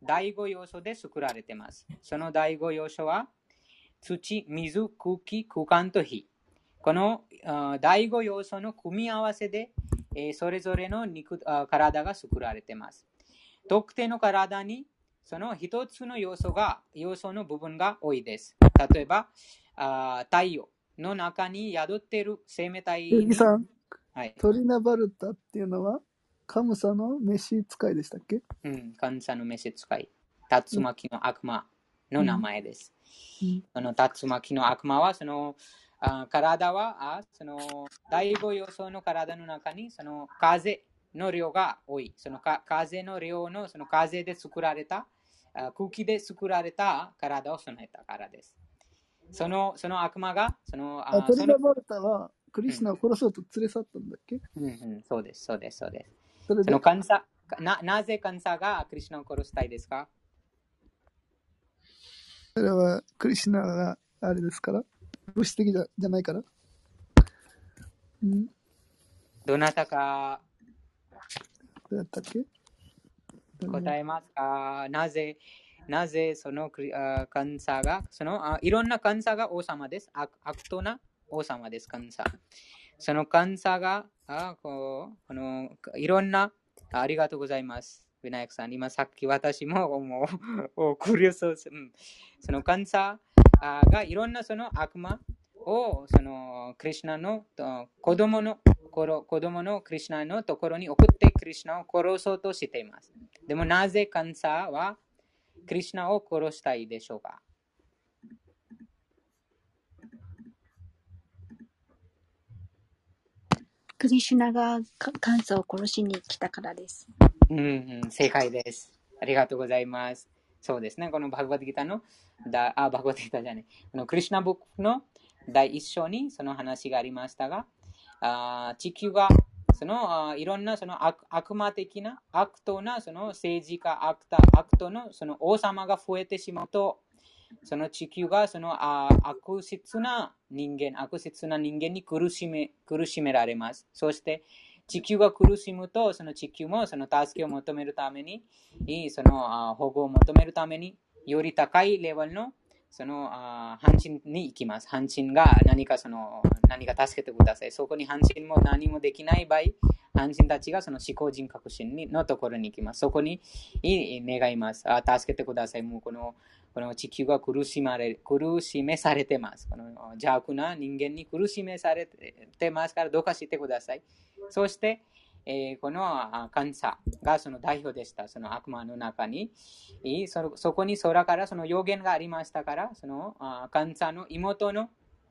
第5要素で作られています。その第5要素は土、水、空気、空間と火。この第5要素の組み合わせで、それぞれの体が作られています。特定の体にその一つの要素の部分が多いです。例えば、太陽の中に宿っている生命体に。 ゆきさん、 はい、 トリナバルタっていうのは、カムサの召使いでしたっけ？ カムサの召使い。竜巻の悪魔の名前です。その竜巻の悪魔は、その体はその第5要素の体の中にその風の量が多い。その風の量のその風で作られた空気で作られた体を備えたからです。その悪魔がトリナバルタはクリシュナを殺そうと連れ去ったんだっけ？ そうです、そうです、そうです。 それでそのカンサなぜカンサがクリシュナを殺したいですか？ それはクリシュナがあれですから、物質的じゃないから。 どなたかどうやったっけ？ 答えますか？なぜそのカンサがいろんなカンサが王様です。悪党な王様です、カンサ。そのカンサがいろんなありがとうございます。ウィナヤクさん、今さっき私もクリアス、そのカンサがいろんなその悪魔をそのクリシュナの子供のクリシュナのところに送ってクリシュナを殺そうとしています。でもなぜカンサはクリシュナを殺したいでしょうか？ クリシュナがカンサを殺しに来たからです。 正解です。ありがとうございます。そうですね。このバグバッドギターのバグバッドギターじゃない。このクリシュナブックの第一章にその話がありましたが、地球がそのいろんなその悪魔的な悪党なその政治家悪党のその王様が増えてしまうと、その地球がその悪質な人間に苦しめられます。そして地球が苦しむと、その地球もその助けを求めるために、その保護を求めるために、より高いレベルのその阪神に行きます。阪神が何か助けてください。そこに阪神も何もできない場合、阪神たちがその思考人格心のところに行きます。そこに願います。助けてください。もうこの地球が苦しめされてます。この邪悪な人間に苦しめされてますから、どうかしてください。そして、このカンサがその代表でした。その悪魔の中に。そこに空からその予言がありましたから、そのカンサの妹の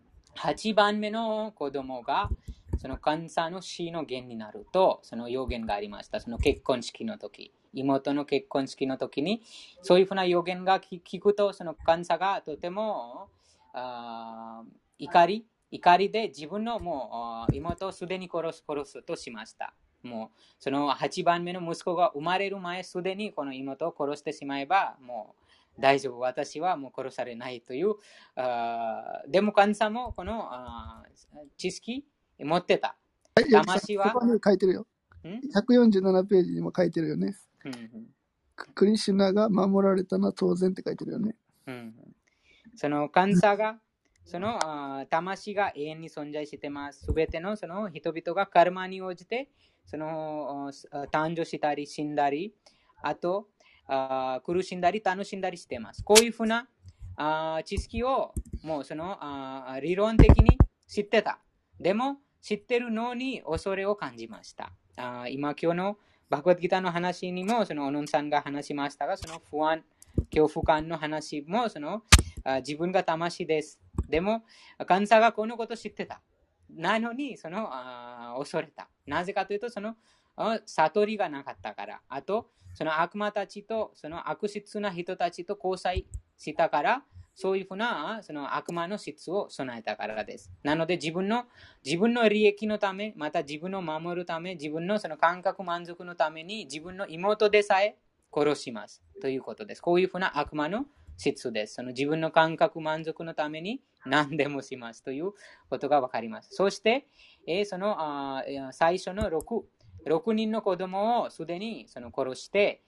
8番目の子供が、そのカンサの死の源になると、その予言がありました。その結婚式の時。妹の結婚式の時に、そういうふうな予言が聞くと、そのカンサがとても怒りで自分のもう妹をすでに殺すとしました。もうその8番目の息子が生まれる前、すでにこの妹を殺してしまえば、もう大丈夫、私はもう殺されないという。でもカンサもこの知識持ってた。魂はそこに書いてるよ。147ページにも書いてるよね。クリシュナが守られたのは当然って書いてるよね。 そのカンサがその魂が永遠に存在してます。すべてのその人々がカルマに応じてその誕生したり死んだり、あと苦しんだり楽しんだりしてます。こういうふうな知識をもうその理論的に知ってた。でも知ってるのに恐れを感じました。今日のバグワッドギターの話にもそのオノンさんが話しましたが、その不安、恐怖感の話もその自分が魂です。でもカンサがこのことを知ってた。なのにその恐れた。なぜかというとその悟りがなかったから。あとその悪魔たちとその悪質な人たちと交際したから、そういうふうなその悪魔の質を備えたからです。なので自分の利益のため、また自分を守るため、自分のその感覚満足のために自分の妹でさえ殺しますということです。こういうふうな悪魔の質です。その自分の感覚満足のために何でもしますということがわかります。そして、その最初の6人の子供をすでにその殺して、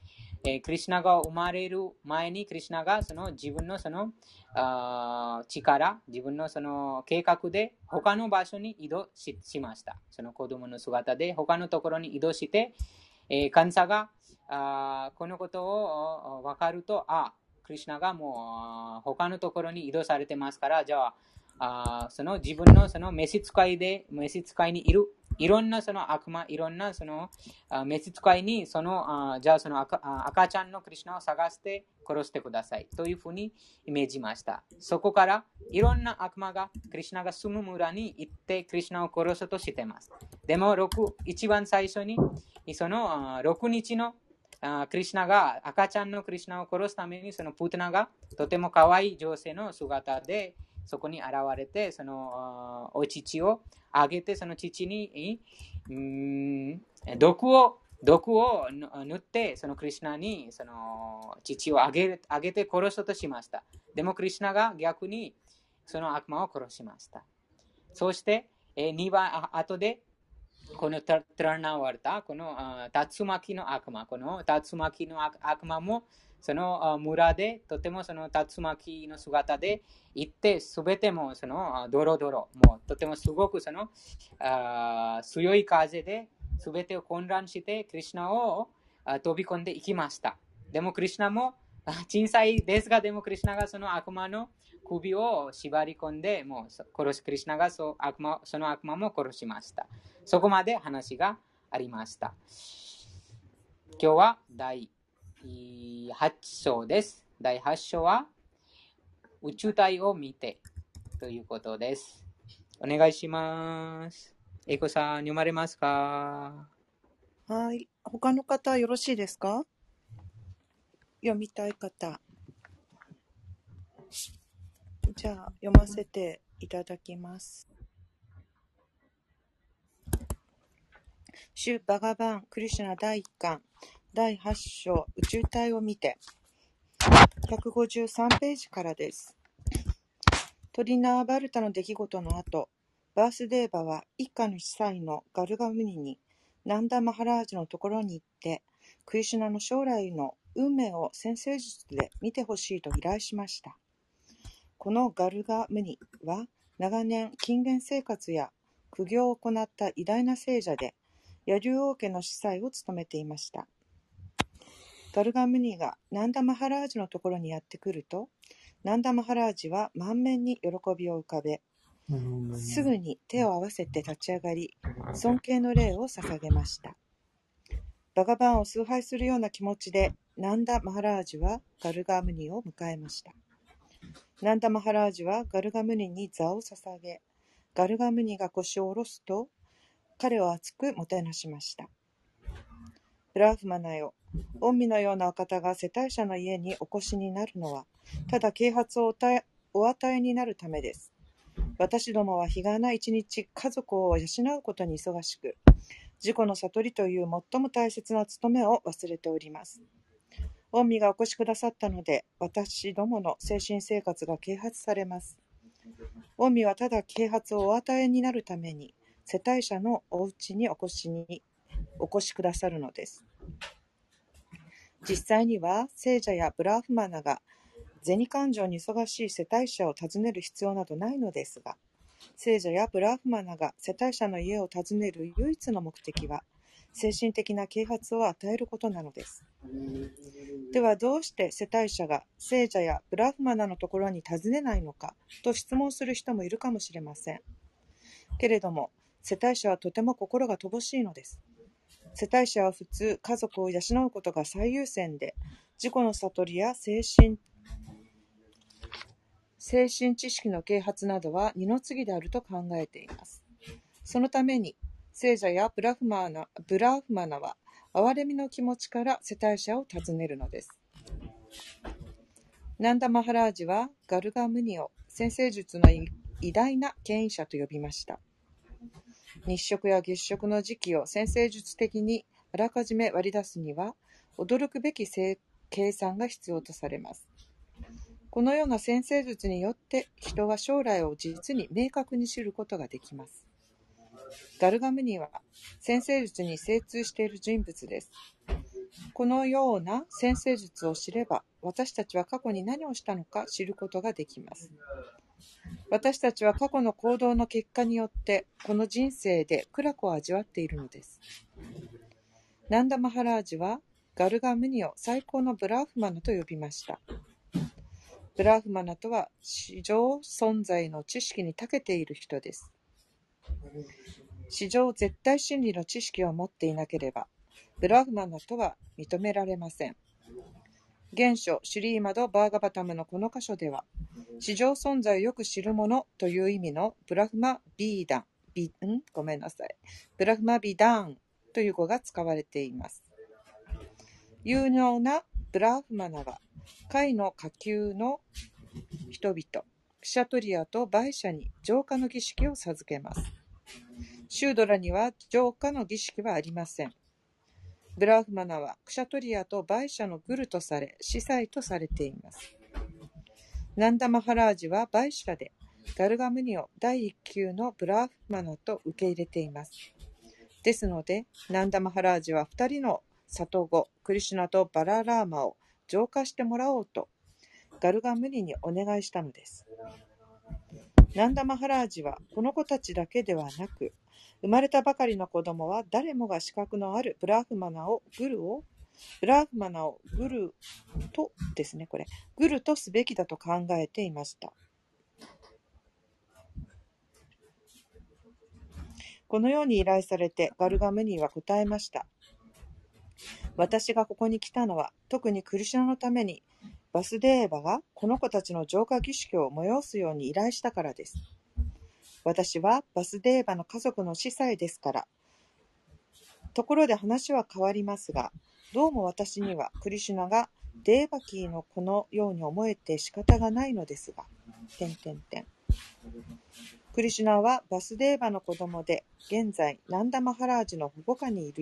クリシュナが生まれる前に、クリシュナがその自分のその力、自分のその計画で他の場所に移動 しました。その子供の姿で他のところに移動して、カンサがこのことを分かると、クリシュナがもう他のところに移動されてますから、じゃあ、その自分のその召使いにいるいろんなその悪魔、いろんなその召使いにじゃあその赤ちゃんのクリシュナを探して殺してくださいというふうにイメージました。そこからいろんな悪魔がクリシュナが住む村に行ってクリシュナを殺そうとしています。でも一番最初にその6日のクリシュナが赤ちゃんのクリシュナを殺すためにそのプータナがとても可愛い女性の姿でそこに現れて、そのお乳をあげて、その乳に毒を塗って、そのクリシュナにその乳をあげて殺そうとしました。でもクリシュナが逆にその悪魔を殺しました。そして2番後でこのトラナワルタ、この竜巻の悪魔、この竜巻の悪魔もその村でとてもその竜巻の姿で行って、すべてもそのドロドロ、もうとてもすごくその強い風ですべてを混乱してクリシュナを飛び込んでいきました。でもクリシュナも小さいですが、でもクリシュナがその悪魔の首を縛り込んで、もうクリシュナがその悪魔も殺しました。そこまで話がありました。今日は第8章です。第8章は宇宙体を見てということです。お願いします。エコさん、読まれますか？ はい。他の方よろしいですか？読みたい方。じゃあ、読ませていただきます。シュ・バガバン・クリシュナ第1巻第8章宇宙体を見て153ページからです。トリナーバルタの出来事の後、バースデーバは一家の司祭のガルガムニにナンダ・マハラージュのところに行って、クリシュナの将来の運命を占星術で見てほしいと依頼しました。このガルガムニは長年禁言生活や苦行を行った偉大な聖者で、ヤリュ王家の司祭を務めていました。ガルガムニがナンダ・マハラージュのところにやってくると、ナンダ・マハラージュは満面に喜びを浮かべ、すぐに手を合わせて立ち上がり、尊敬の礼を捧げました。バガバンを崇拝するような気持ちで、ナンダ・マハラージュはガルガムニを迎えました。ナンダ・マハラージュはガルガムニに座を捧げ、ガルガムニが腰を下ろすと、彼を熱くもてなしました。ブラフマナよ、御身のようなお方が世帯者の家にお越しになるのは、ただ啓発をお与えになるためです。私どもは日がな一日家族を養うことに忙しく、自己の悟りという最も大切な務めを忘れております。御身がお越しくださったので、私どもの精神生活が啓発されます。御身はただ啓発をお与えになるために、世帯者のお家にお越しくださるのです。実際には聖者やブラフマナが銭勘定に忙しい世帯者を訪ねる必要などないのですが、聖者やブラフマナが世帯者の家を訪ねる唯一の目的は、精神的な啓発を与えることなのです。ではどうして世帯者が聖者やブラフマナのところに訪ねないのかと質問する人もいるかもしれません。けれども、世帯者はとても心が乏しいのです。世帯者は普通、家族を養うことが最優先で、自己の悟りや精神知識の啓発などは二の次であると考えています。そのために、聖者やブラフマナは、憐れみの気持ちから世帯者を訪ねるのです。ナンダ・マハラージはガルガムニを占星術の偉大な権威者と呼びました。日食や月食の時期を占星術的にあらかじめ割り出すには、驚くべき計算が必要とされます。このような占星術によって人は将来を実に明確に知ることができます。ガルガムニは占星術に精通している人物です。 このような占星術を知れば、私たちは過去に何をしたのか知ることができます。私たちは過去の行動の結果によって、この人生で苦楽を味わっているのです。ナンダ・マハラージは、ガルガムニを最高のブラーフマナと呼びました。ブラーフマナとは、史上存在の知識に長けている人です。史上絶対真理の知識を持っていなければ、ブラーフマナとは認められません。原書シュリーマド・バーガバタムのこの箇所では、史上存在をよく知る者という意味のブラフマビーダン、ブラフマビダーンという語が使われています。有能なブラフマナは、下位の下級の人々、クシャトリアとバイシャに浄化の儀式を授けます。シュードラには浄化の儀式はありません。ブラフマナはクシャトリアとバイシャのグルとされ、司祭とされています。ナンダ・マハラージはバイシャで、ガルガムニを第一級のブラフマナと受け入れています。ですので、ナンダ・マハラージは2人の里子、クリシュナとバララーマを浄化してもらおうと、ガルガムニにお願いしたのです。ナンダ・マハラージはこの子たちだけではなく、生まれたばかりの子供は誰もが資格のあるブラフマナをグルとですね、グルとすべきだと考えていました。このように依頼されてガルガムニは答えました。私がここに来たのは、特にクリシュナのために、バスデーバがこの子たちの浄化儀式を催すように依頼したからです。私はバスデーバの家族の司祭ですから。ところで話は変わりますが、どうも私にはクリシュナがデーバキーの子のように思えて仕方がないのですが、クリシュナはバスデーバの子供で、現在ナンダ・マハラージの保護下にい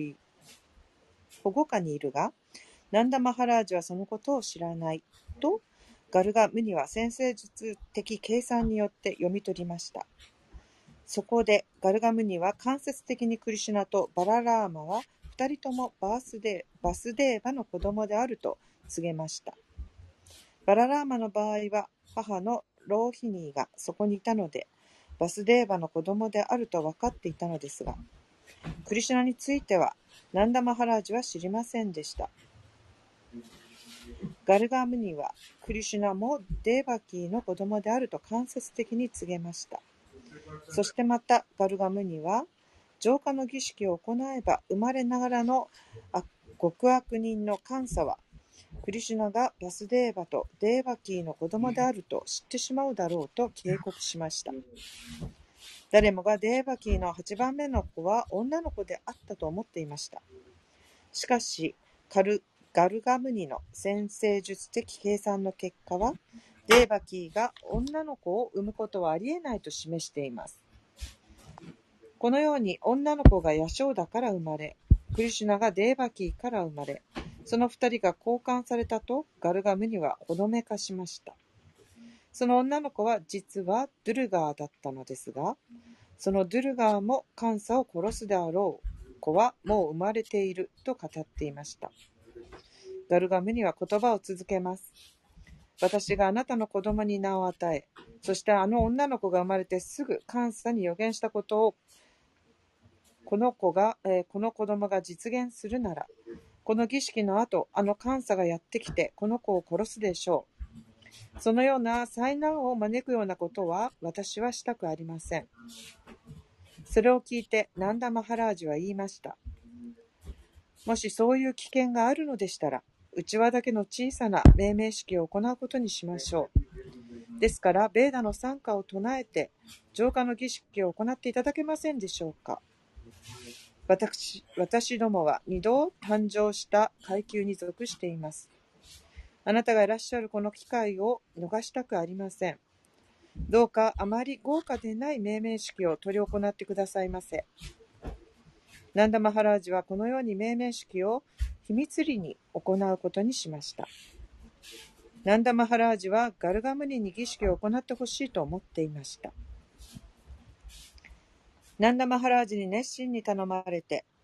るが、ナンダ・マハラージはそのことを知らないと、ガルガムニは占星術的計算によって読み取りました。そこでガルガムニは間接的にクリシュナとバララーマは2人ともバスデーバの子供であると告げました。バララーマの場合は母のローヒニーがそこにいたので、バスデーバの子供であると分かっていたのですが、クリシュナについてはナンダ・マハラージは知りませんでした。ガルガムニはクリシュナもデーバキーの子供であると間接的に告げました。そしてまたガルガムニは浄化の儀式を行えば生まれながらの極悪人の監査はクリシュナがバスデーバとデーバキーの子供であると知ってしまうだろうと警告しました。誰もがデーバキーの8番目の子は女の子であったと思っていました。しかしガルガムニの占星術的計算の結果は、デーバキーが女の子を産むことはありえないと示しています。このように女の子がヤショーダから生まれ、クリシュナがデーバキーから生まれ、その2人が交換されたとガルガムニはほのめかしました。その女の子は実はドゥルガーだったのですが、そのドゥルガーもカンサを殺すであろう子はもう生まれていると語っていました。ガルガムニは言葉を続けます。私があなたの子供に名を与え、そしてあの女の子が生まれてすぐカンサに予言したことをこの子供が実現するなら、この儀式の後、あのカンサがやってきてこの子を殺すでしょう。そのような災難を招くようなことは私はしたくありません。それを聞いてナンダ・マハラージは言いました。もしそういう危険があるのでしたら、内輪だけの小さな命名式を行うことにしましょう。ですから、ベーダの賛歌を唱えて、浄化の儀式を行っていただけませんでしょうか。私どもは2度誕生した階級に属しています。あなたがいらっしゃるこの機会を逃したくありません。どうかあまり豪華でない命名式を執り行ってくださいませ。ナンダ・マハラージはこのように命名式を秘密裏に行うことにしました。ナンダ・マハラージはガルガムニに儀式を行ってほしいと思っていました。ナンダ・マハラージに熱心に頼まれて、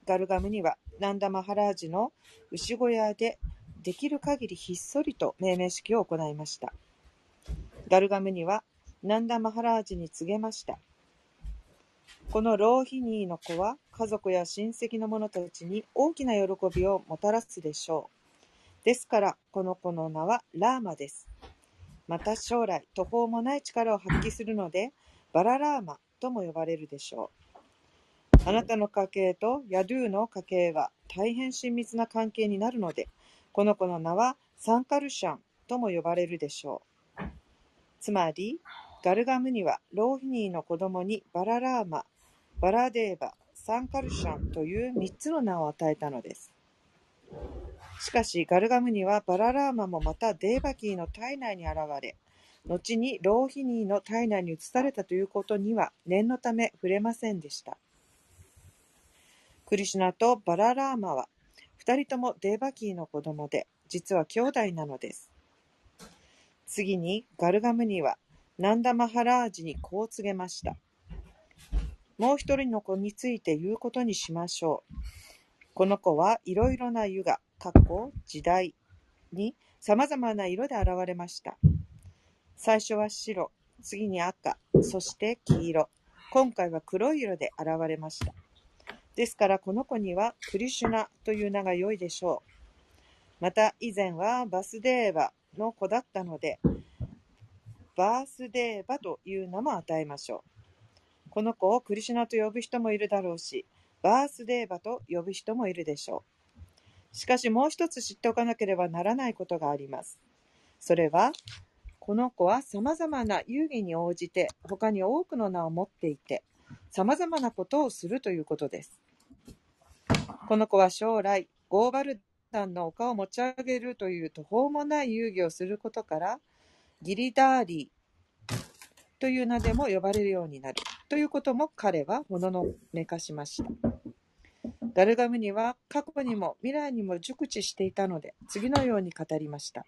ガルガムニはナンダマハラージの牛小屋でできる限りひっそりと命名式を行いました。ガルガムニはナンダマハラージに告げました。このローヒニーの子は家族や親戚の者たちに大きな喜びをもたらすでしょう。ですからこの子の名はラーマです。また将来途方もない力を発揮するのでバララーマとも呼ばれるでしょう。あなたの家系とヤドゥの家系は大変親密な関係になるので、この子の名はサンカルシャンとも呼ばれるでしょう。つまりガルガムニはローヒニーの子供にバララーマ、バラデーバ、サンカルシャンという3つの名を与えたのです。しかしガルガムニはバララーマもまたデーバキーの体内に現れ、後にローヒニーの体内に移されたということには念のため触れませんでした。クリシュナとバララーマは2人ともデーバキーの子供で、実は兄弟なのです。次にガルガムニはナンダマハラージにこう告げました。もう一人の子について言うことにしましょう。この子はいろいろなユガ、時代にさまざまな色で現れました。最初は白、次に赤、そして黄色、今回は黒い色で現れました。ですからこの子にはクリシュナという名が良いでしょう。また以前はバスデーバの子だったので、バースデーバという名も与えましょう。この子をクリシュナと呼ぶ人もいるだろうし、バースデーバと呼ぶ人もいるでしょう。しかしもう一つ知っておかなければならないことがあります。それは、この子はさまざまな遊戯に応じて他に多くの名を持っていて、さまざまなことをするということです。この子は将来ゴーバルダンの丘を持ち上げるという途方もない遊戯をすることから、ギリダーリーという名でも呼ばれるようになるということも彼はもののめかしました。ガルガムニは過去にも未来にも熟知していたので、次のように語りました。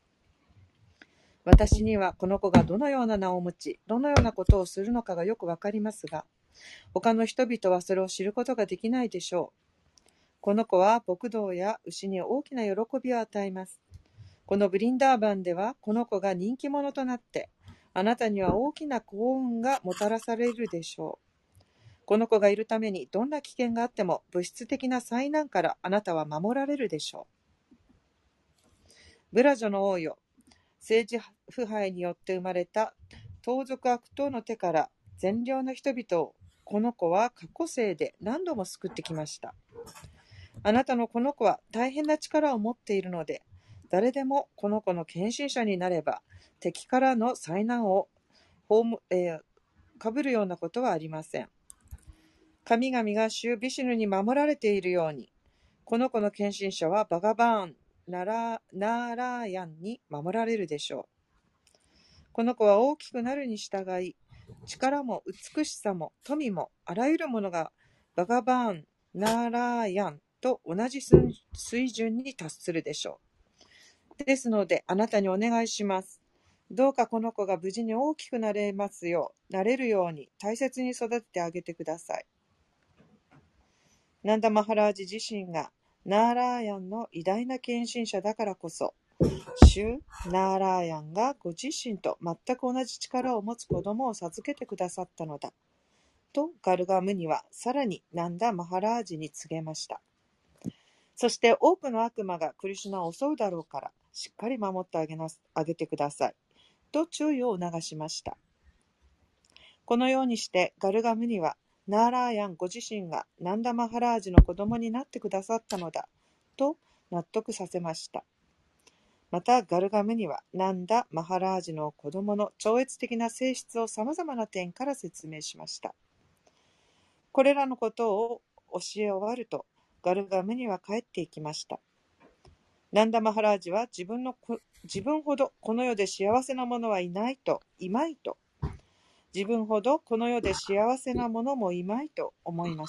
私にはこの子がどのような名を持ち、どのようなことをするのかがよくわかりますが、他の人々はそれを知ることができないでしょう。この子は牧童や牛に大きな喜びを与えます。このブリンダーバンではこの子が人気者となって、あなたには大きな幸運がもたらされるでしょう。この子がいるためにどんな危険があっても物質的な災難からあなたは守られるでしょう。ブラジョの王よ、政治腐敗によって生まれた盗賊悪党の手から善良な人々をこの子は過去世で何度も救ってきました。あなたのこの子は大変な力を持っているので、誰でもこの子の献身者になれば敵からの災難をかぶるようなことはありません。神々が主ビシュヌに守られているように、この子の献身者はバガバーン、ナーラーヤンに守られるでしょう。この子は大きくなるに従い、力も美しさも富もあらゆるものがバガバーン、ナーラーヤンと同じ水準に達するでしょう。ですのであなたにお願いします。どうかこの子が無事に大きくなれるように大切に育ててあげてください。ナンダマハラージ自身がナーラーヤンの偉大な献身者だからこそ、シュ・ナーラーヤンがご自身と全く同じ力を持つ子供を授けてくださったのだとガルガムニはさらにナンダマハラージに告げました。そして多くの悪魔がクリシュナを襲うだろうからしっかり守ってあげてくださいと注意を促しました。このようにしてガルガムニはナーラーヤンご自身がナンダマハラージの子供になってくださったのだと納得させました。またガルガムニはナンダマハラージの子供の超越的な性質をさまざまな点から説明しました。これらのことを教え終わるとガルガムニは帰っていきました。ナンダマハラージは自分ほどこの世で幸せな者はいまいと、自分ほどこの世で幸せな者もいまいと思いました。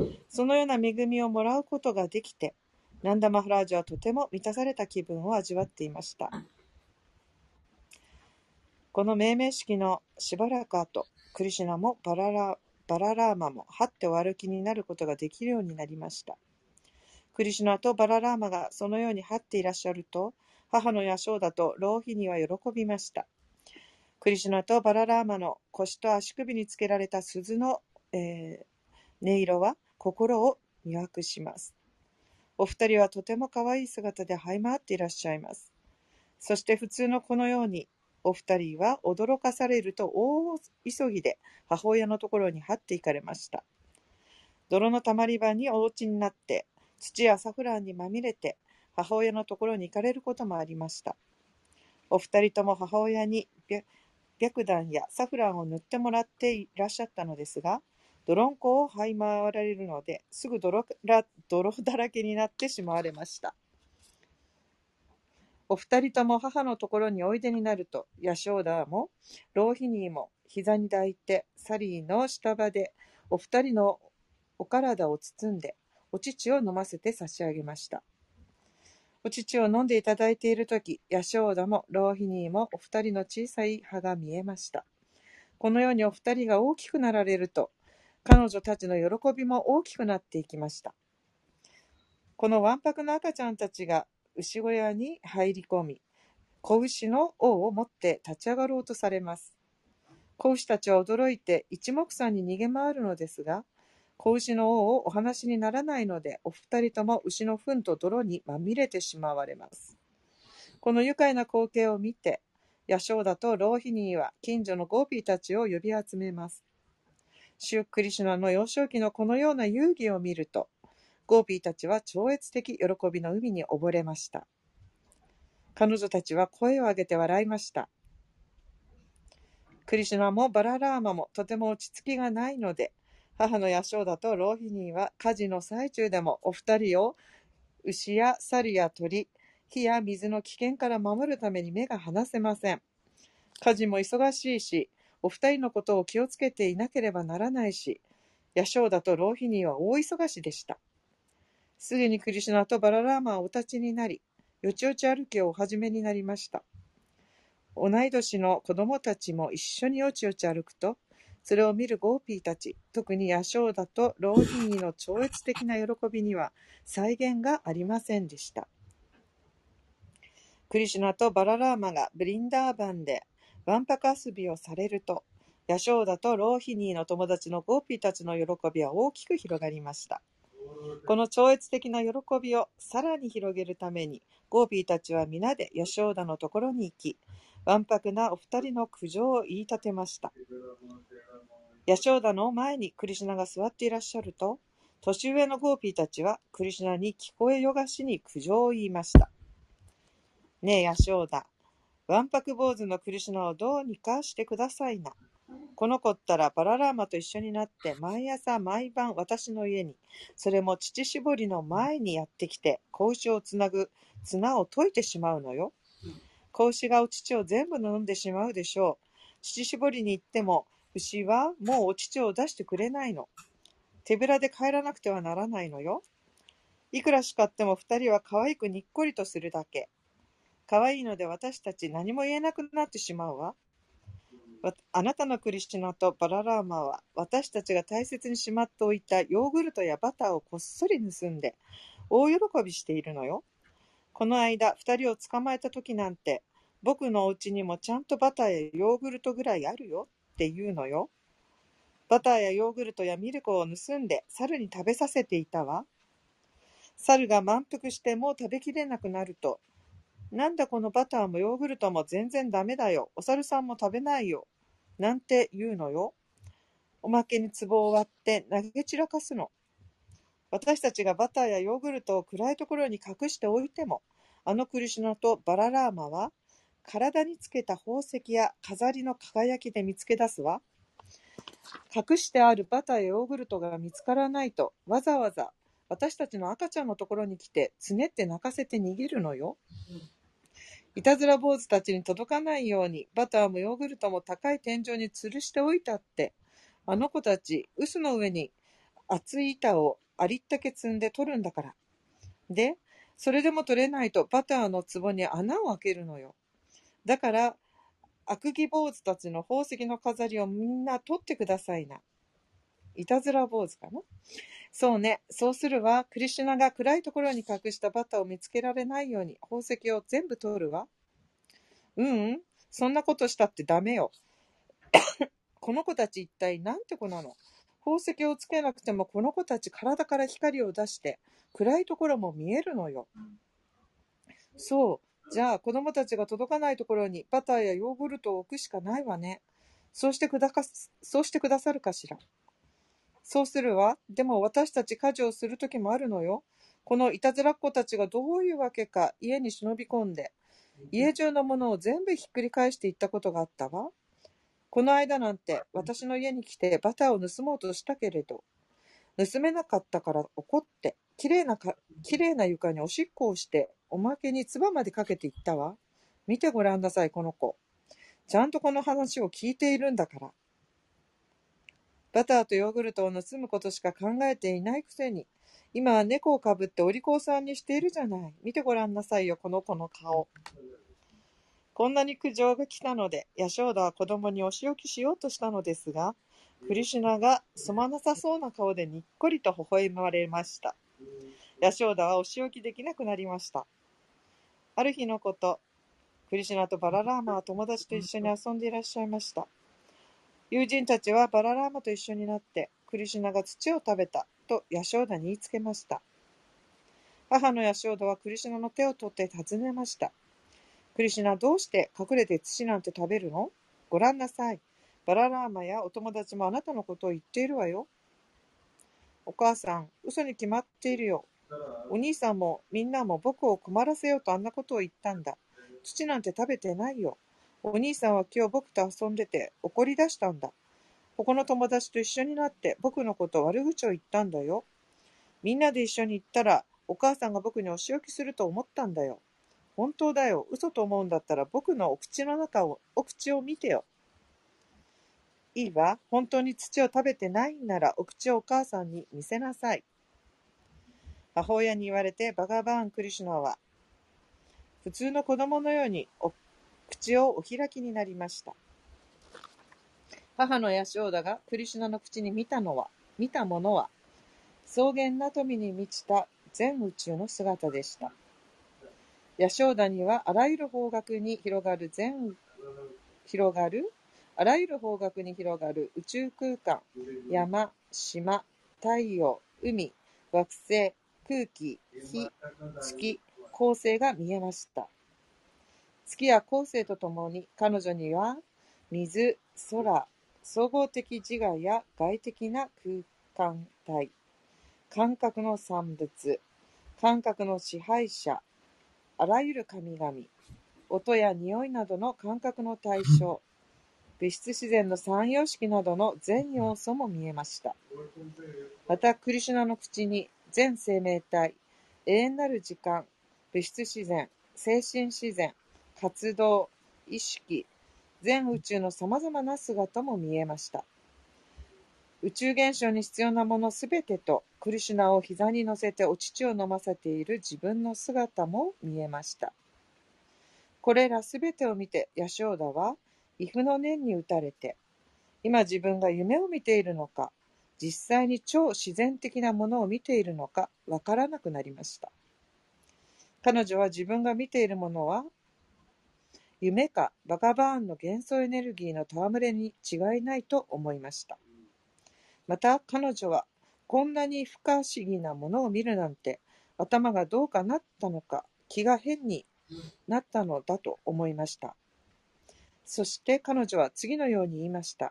そのような恵みをもらうことができて、ナンダマハラージはとても満たされた気分を味わっていました。この命名式のしばらく後、クリシュナもバララバララーマもはってお歩きになることができるようになりました。クリシュナとバララーマがそのようにはっていらっしゃると、母のヤショーダとローヒニは喜びました。クリシュナとバララーマの腰と足首につけられた鈴の、音色は心を魅惑します。お二人はとても可愛い姿で這い回っていらっしゃいます。そして普通のこのように、お二人は驚かされると大急ぎで母親のところに這って行かれました。泥のたまり場にお落ちになって、土やサフランにまみれて母親のところに行かれることもありました。お二人とも母親に白檀やサフランを塗ってもらっていらっしゃったのですが、泥んこを這い回られるので、すぐ泥だらけになってしまわれました。お二人とも母のところにおいでになると、ヤショーダもローヒニーも膝に抱いて、サリーの下場でお二人のお体を包んで、お乳を飲ませて差し上げました。お乳を飲んでいただいているとき、ヤショーダもローヒニーもお二人の小さい歯が見えました。このようにお二人が大きくなられると、彼女たちの喜びも大きくなっていきました。このわんぱくな赤ちゃんたちが牛小屋に入り込み、子牛の尾を持って立ち上がろうとされます。子牛たちは驚いて一目散に逃げ回るのですが、子牛の尾をお話にならないので、お二人とも牛の糞と泥にまみれてしまわれます。この愉快な光景を見て、ヤショーダとローヒニーは近所のゴーピーたちを呼び集めます。シュクリシュナの幼少期のこのような遊戯を見ると、ゴーピーたちは超越的喜びの海に溺れました。彼女たちは声を上げて笑いました。クリシュナもバララーマもとても落ち着きがないので、母のヤショーダとローヒニーは家事の最中でもお二人を牛や猿や鳥、火や水の危険から守るために目が離せません。家事も忙しいし、お二人のことを気をつけていなければならないし、ヤショーダとローヒニーは大忙しでした。すぐにクリシュナとバララーマはお立ちになり、よちよち歩きをお始めになりました。同い年の子供たちも一緒によちよち歩くと、それを見るゴーピーたち、特にヤショーダとローヒニーの超越的な喜びには際限がありませんでした。クリシュナとバララーマがブリンダーバンでわんぱく遊びをされると、ヤショーダとローヒニーの友達のゴーピーたちの喜びは大きく広がりました。この超越的な喜びをさらに広げるために、ゴーピーたちは皆でヤショーダのところに行き、わんぱくなお二人の苦情を言い立てました。ヤショーダの前にクリシュナが座っていらっしゃると、年上のゴーピーたちはクリシュナに聞こえよがしに苦情を言いました。ねえヤショーダ、わんぱく坊主のクリシュナをどうにかしてくださいな。この子ったらバララーマと一緒になって毎朝毎晩私の家に、それも乳搾りの前にやってきて子牛をつなぐ綱を解いてしまうのよ。子牛がお乳を全部飲んでしまうでしょう。乳搾りに行っても牛はもうお乳を出してくれないの。手ぶらで帰らなくてはならないのよ。いくら叱っても二人は可愛くにっこりとするだけ。可愛いので私たち何も言えなくなってしまうわ。あなたのクリシュナとバララーマは私たちが大切にしまっておいたヨーグルトやバターをこっそり盗んで大喜びしているのよ。この間二人を捕まえた時なんて、僕のお家にもちゃんとバターやヨーグルトぐらいあるよって言うのよ。バターやヨーグルトやミルクを盗んで猿に食べさせていたわ。猿が満腹してもう食べきれなくなると、なんだこのバターもヨーグルトも全然ダメだよ。お猿さんも食べないよ。なんて言うのよ。おまけに壺を割って投げ散らかすの。私たちがバターやヨーグルトを暗いところに隠しておいても、あのクリシュナとバララーマは体につけた宝石や飾りの輝きで見つけ出すわ。隠してあるバターやヨーグルトが見つからないと、わざわざ私たちの赤ちゃんのところに来てつねって泣かせて逃げるのよ。いたずら坊主たちに届かないようにバターもヨーグルトも高い天井に吊るしておいたって、あの子たち臼の上に厚い板をありったけ積んで取るんだから。で、それでも取れないとバターの壺に穴を開けるのよ。だから悪義坊主たちの宝石の飾りをみんな取ってくださいな。 いたずら坊主かな。そうね。そうするわ。クリシュナが暗いところに隠したバタを見つけられないように宝石を全部取るわ。そんなことしたってダメよ。この子たち一体なんて子なの。宝石をつけなくてもこの子たち体から光を出して暗いところも見えるのよ。そう。じゃあ子供たちが届かないところにバターやヨーグルトを置くしかないわね。そうしてくださるかしら。そうするわ。でも私たち家事をするときもあるのよ。このいたずらっ子たちがどういうわけか家に忍び込んで、家中のものを全部ひっくり返していったことがあったわ。この間なんて私の家に来てバターを盗もうとしたけれど、盗めなかったから怒って、きれいな床におしっこをして、おまけに唾までかけていったわ。見てごらんなさい、この子。ちゃんとこの話を聞いているんだから。バターとヨーグルトを盗むことしか考えていないくせに、今は猫をかぶってお利口さんにしているじゃない。見てごらんなさいよ、この子の顔。こんなに苦情が来たので、ヤショーダは子供にお仕置きしようとしたのですが、クリシュナがすまなさそうな顔でにっこりと微笑まれました。ヤショーダはお仕置きできなくなりました。ある日のこと、クリシュナとバララーマは友達と一緒に遊んでいらっしゃいました。友人たちはバララーマと一緒になって、クリシュナが土を食べたとヤショーダに言いつけました。母のヤショーダはクリシュナの手を取って尋ねました。クリシュナ、どうして隠れて土なんて食べるの？ごらんなさい。バララーマやお友達もあなたのことを言っているわよ。お母さん、嘘に決まっているよ。お兄さんもみんなも僕を困らせようとあんなことを言ったんだ。土なんて食べてないよ。お兄さんは今日僕と遊んでて怒り出したんだ。他の友達と一緒になって僕のこと悪口を言ったんだよ。みんなで一緒に行ったらお母さんが僕にお仕置きすると思ったんだよ。本当だよ。嘘と思うんだったら僕のお口を見てよ。いいわ。本当に土を食べてないんならお口をお母さんに見せなさい。母親に言われてバガバーン・クリシュナは普通の子供のように口をお開きになりました。母のヤショーダがクリシュナの口に見たものは草原な富に満ちた全宇宙の姿でした。ヤショーダにはあらゆる方角に広がる宇宙空間、山、島、太陽、海、惑星、空気、火、月、恒星が見えました。月や恒星とともに彼女には水、空、総合的自我や外的な空間体、感覚の産物、感覚の支配者、あらゆる神々、音や匂いなどの感覚の対象、物質自然の三様式などの全要素も見えました。またクリシュナの口に全生命体、永遠なる時間、物質自然、精神自然、活動、意識、全宇宙のさまざまな姿も見えました。宇宙現象に必要なものすべてとクリシュナを膝に乗せてお乳を飲ませている自分の姿も見えました。これらすべてを見てヤショーダは畏怖の念に打たれて、今自分が夢を見ているのか、実際に超自然的なものを見ているのかわからなくなりました。彼女は自分が見ているものは夢かバガバーンの元素エネルギーの戯れに違いないと思いました。また彼女はこんなに不可思議なものを見るなんて頭がどうかなったのか、気が変になったのだと思いました。そして彼女は次のように言いました。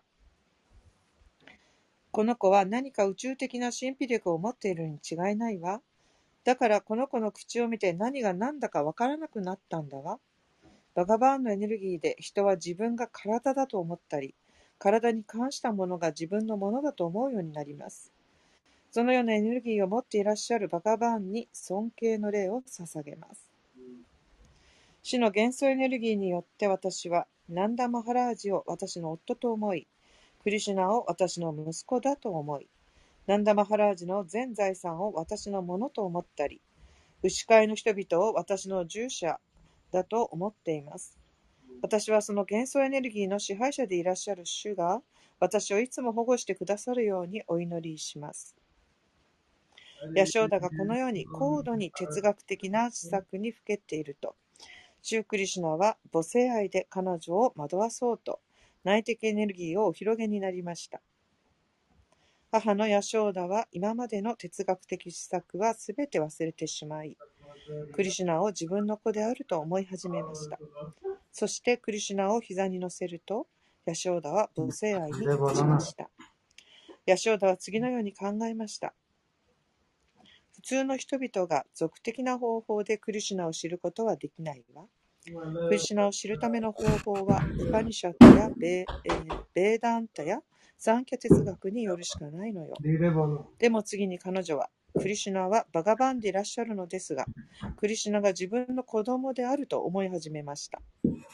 この子は何か宇宙的な神秘力を持っているに違いないわ。だからこの子の口を見て何が何だかわからなくなったんだわ。バガバーンのエネルギーで人は自分が体だと思ったり、体に関したものが自分のものだと思うようになります。そのようなエネルギーを持っていらっしゃるバガバーンに尊敬の礼を捧げます。死の元素エネルギーによって私はナンダ・マハラージを私の夫と思い、クリシュナを私の息子だと思い、ナンダ・マハラージの全財産を私のものと思ったり、牛飼いの人々を私の従者だと思っています。私はその元素エネルギーの支配者でいらっしゃる主が私をいつも保護してくださるようにお祈りします。ヤショーダがこのように高度に哲学的な施策にふけっていると、シュークリシュナは母性愛で彼女を惑わそうと内的エネルギーをお広げになりました。母のヤショーダは今までの哲学的施策はすべて忘れてしまい、クリシュナを自分の子であると思い始めました。そしてクリシュナを膝に乗せると、ヤショーダは母性愛に立ちました。ヤショーダは次のように考えました。普通の人々が俗的な方法でクリシュナを知ることはできないわ。クリシュナを知るための方法はウパニシャットやベーダンタやサンキャ哲学によるしかないのよ。でも次に彼女は、クリシュナはバガバンでいらっしゃるのですが、クリシュナが自分の子供であると思い始めました。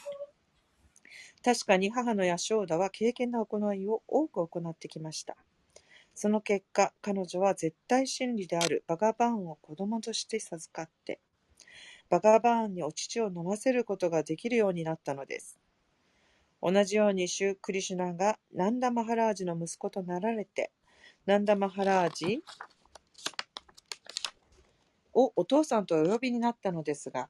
確かに母のヤショーダは敬虔な行いを多く行ってきました。その結果、彼女は絶対真理であるバガバーンを子供として授かって、バガバーンにお乳を飲ませることができるようになったのです。同じようにシュクリシュナがナンダマハラージの息子となられて、ナンダマハラージをお父さんとお呼びになったのですから、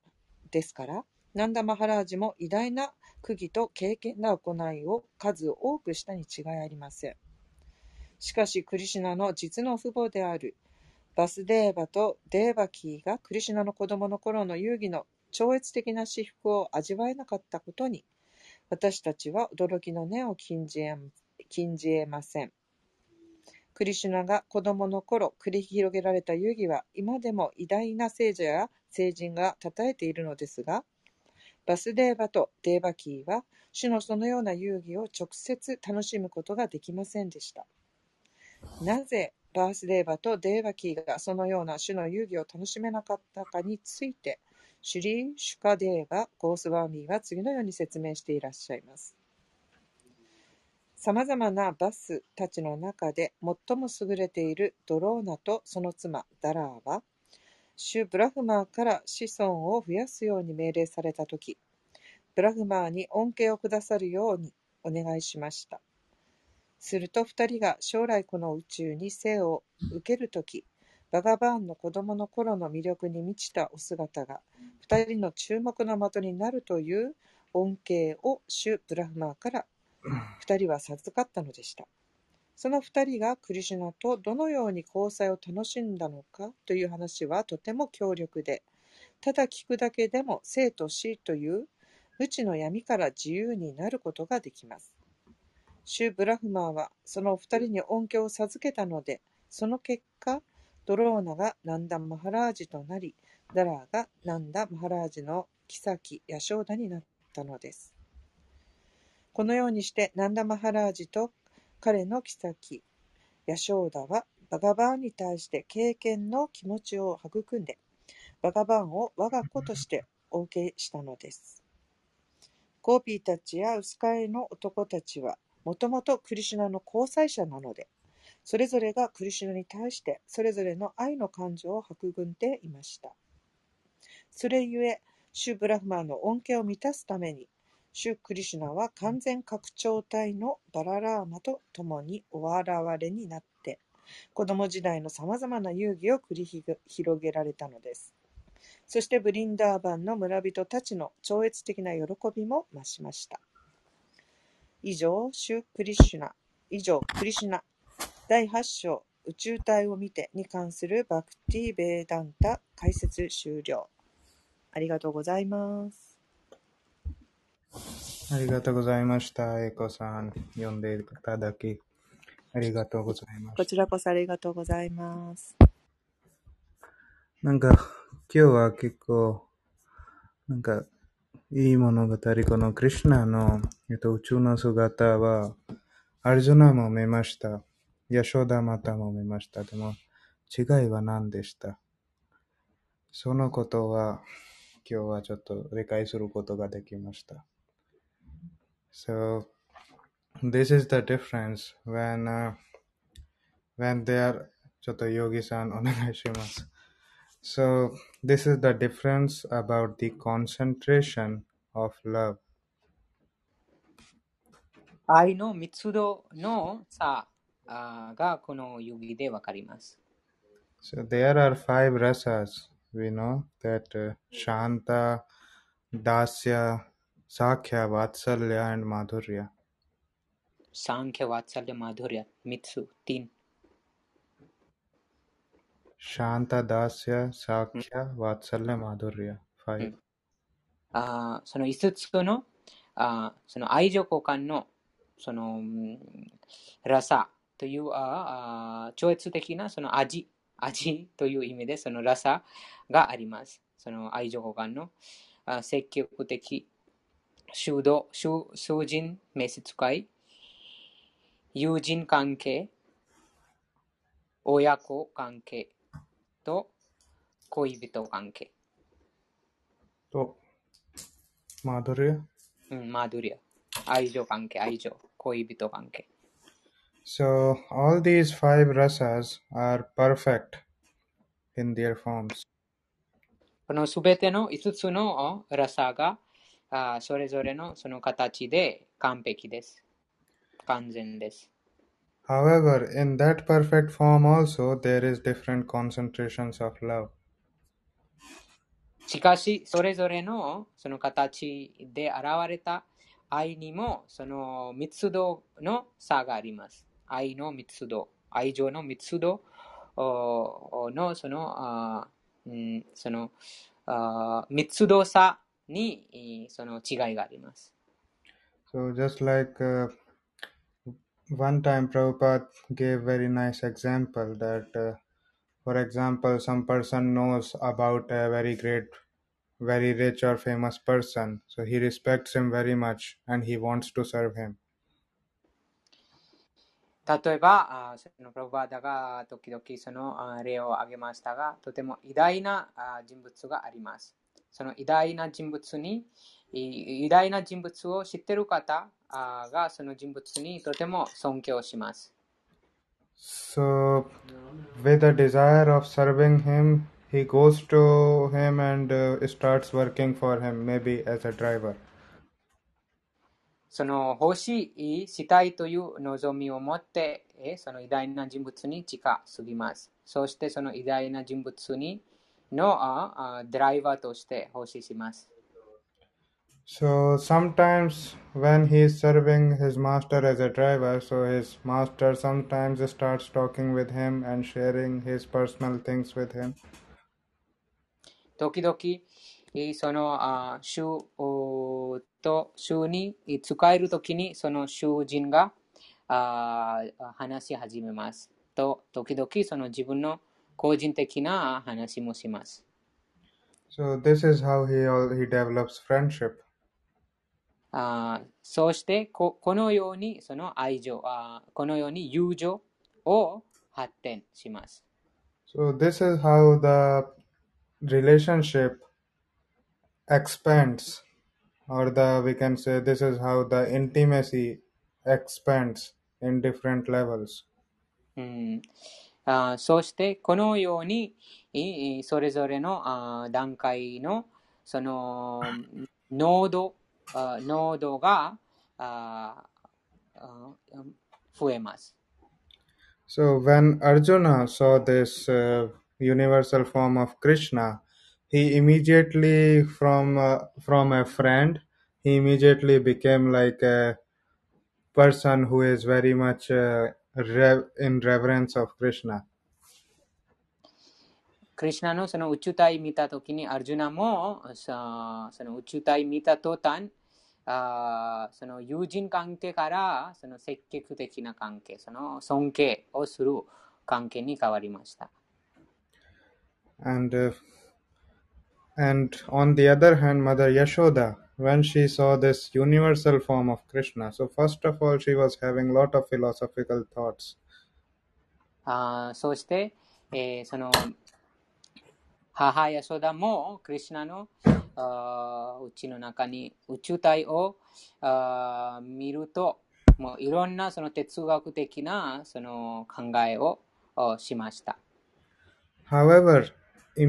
ナンダマハラージも偉大な苦義と敬虔な行いを数多くしたに違いありません。しかし、クリシュナの実の父母であるバスデーバとデーバキーがクリシュナの子供の頃の遊戯の超越的な至福を味わえなかったことに、私たちは驚きの念を禁じ得ません。クリシュナが子供の頃繰り広げられた遊戯は今でも偉大な聖者や聖人が称えているのですが、バスデーバとデーバキーは主のそのような遊戯を直接楽しむことができませんでした。なぜバースデーバとデーバキーがそのような主の遊戯を楽しめなかったかについて、シュリー・シュカデーバ・ゴースワーミーは次のように説明していらっしゃいます。さまざまなバスたちの中で最も優れているドローナとその妻ダラーは、シュ・ブラフマーから子孫を増やすように命令されたとき、ブラフマーに恩恵をくださるようにお願いしました。すると二人が将来この宇宙に生を受けるとき、バガバーンの子供の頃の魅力に満ちたお姿が二人の注目の的になるという恩恵をシュ・ブラフマーから二人は授かったのでした。その二人がクリシュナとどのように交際を楽しんだのかという話はとても強力で、ただ聞くだけでも生と死という無知の闇から自由になることができます。シュ・ブラフマーはその二人に恩恵を授けたので、その結果、ドローナがナンダ・マハラージとなり、ダラーがナンダ・マハラージの妃ヤショーダになったのです。このようにしてナンダ・マハラージと彼の妃ヤショーダはバガバーンに対して敬虔の気持ちを育んで、バガバーンを我が子としてお受けしたのです。ゴーピーたちやウスカイの男たちはもともとクリシュナの交際者なので、それぞれがクリシュナに対してそれぞれの愛の感情を育んでいました。それゆえ、シュ・ブラフマーの恩恵を満たすために、シュ・クリシュナは完全拡張体のバララーマと共にお現れになって、子供時代のさまざまな遊戯を繰り広げられたのです。そしてブリンダーバンの村人たちの超越的な喜びも増しました。以上、クリシュナ第8章宇宙体を見てに関するバクティ・ベーダンタ解説終了。ありがとうございます。 ありがとうございました。エコさん、読んでいただきありがとうございました。 こちらこそありがとうございます。 なんか今日は結構いい物語、このクリシュナの、宇宙の姿はアルジュナも見ました。ヤショダマタも見ました。でも違いは何でした？そのことは今日はちょっと理解することができました。So this is the difference when they are ちょっとヨギさんお願いします。So this is the difference about the concentration of love. 愛の密度の差がこの遊戯でわかります。 So there are 5 rasas. We know that Shanta, Dasya, Sakhya, Vatsalya and Madhurya. Sankhya, Vatsalya, Madhurya, Mitsu, 3. Shanta, Dasya, Sakhya, Vatsalya, Madhurya. 5. その5つのその愛情交換のそのラサという超越的なその味という意味でそのラサがあります。その愛情交換の積極的、修道、囚人、召使い、友人関係、親子関係と恋人関係。 と、マドリア？ マドリア。愛情関係、恋人関係。 So, all these 5 rasas are perfect in their forms. このすべての5つのラサがそれぞれのその形で完璧です。完全です。 However, in that perfect form also, there is different concentrations of love. しかし、それぞれのその形で現れた愛にもその密度の差があります。愛の密度、愛情の密度のその密度差にその違いがあります。 So just like one time Prabhupada gave very nice example that for example some person knows about a very great, very rich or famous person, so he respects him very much and he wants to serve him. 例えば、そのプロバーダが時々その例を挙げましたが、とても偉大な人物があります。その偉大な人物を知っている方がその人物にとても尊敬します。 So, with a desire of serving him, he goes to him and starts working for him, maybe as a driver. その欲しいしたいという望みを持ってその偉大な人物に近すぎます。そしてその偉大な人物のドライバーとして奉仕します。 So sometimes when he is serving his master as a driver, so his master sometimes starts talking with him and sharing his personal things with him. 時々その主に使えるときにその囚人が話し始めます。と時々その自分の個人的な話もします。 So this is how he develops friendship. そしてこのようにその愛情、このように友情を発展します。 So this is how the relationship expands, or we can say this is how the intimacy expands in different levels. そしてこのようにそれぞれの段階のその濃度が増えます。 So when Arjuna saw this universal form of Krishna, he immediately from a friend, he immediately became like a person who is very much in reverence of Krishna. クリシュナのその宇宙体見たときにアルジュナもその宇宙体見た途端その友人関係からその積極的な関係、その尊敬をする関係に変わりました。 And on the other hand, Mother Yashoda, when she saw this universal form of Krishna, so first of all, she was having a lot of philosophical thoughts. そして、その母ヤショダもクリシュナのうちの中に宇宙体を見ると、もういろんなその哲学的なその考えをしました。 However,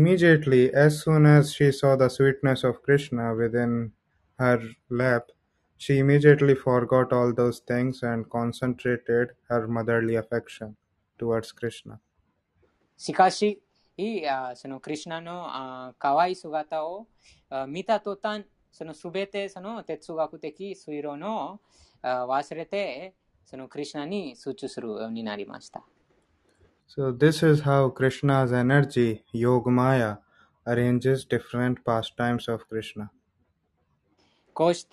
immediately, as soon as she saw the sweetness of Krishna within her lap, She immediately forgot all those things and concentrated her motherly affection towards Krishna. しかし、そのクリシュナの可愛い姿を見た途端、そのすべてその哲学的推論を忘れて、そのクリシュナに集中するようになりました。 So this is how Krishna's energy, Yogamaya, arranges different pastimes of Krishna. こうして、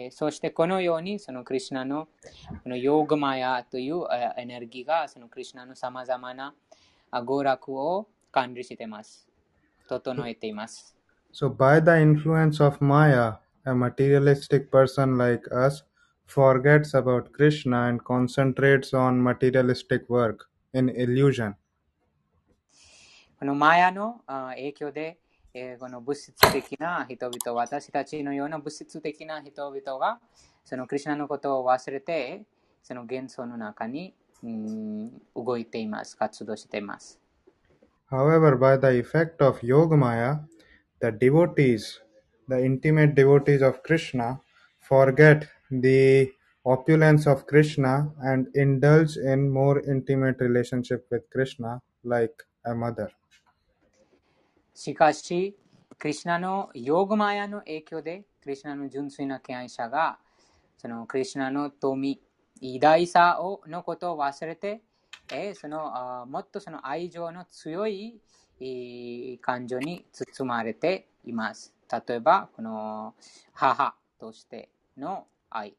そしてこのようにそのクリシュナのこのヨーガマヤというエネルギーがそのクリシュナのさまざまな娯楽を管理しています。整えています。 So by the influence of Maya, a materialistic person like us forgets about Krishna and concentrates on materialistic work in illusion. このマヤの影響で、この物質的な人々、私たちのような物質的な人々がそのクリシュナのことを忘れて、その幻想の中に動いています、活動しています。 However, by the effect of Yogamaya, the devotees, the intimate devotees of Krishna, forget the opulence of Krishna and indulge in more intimate relationship with Krishna like a mother. しかし、クリシュナのヨーガマヤの影響で、クリシュナの純粋な敬愛者が、そのクリシュナの富、偉大さのことを忘れて、そのもっとその愛情の強い感情に包まれています。例えば、この母としての愛。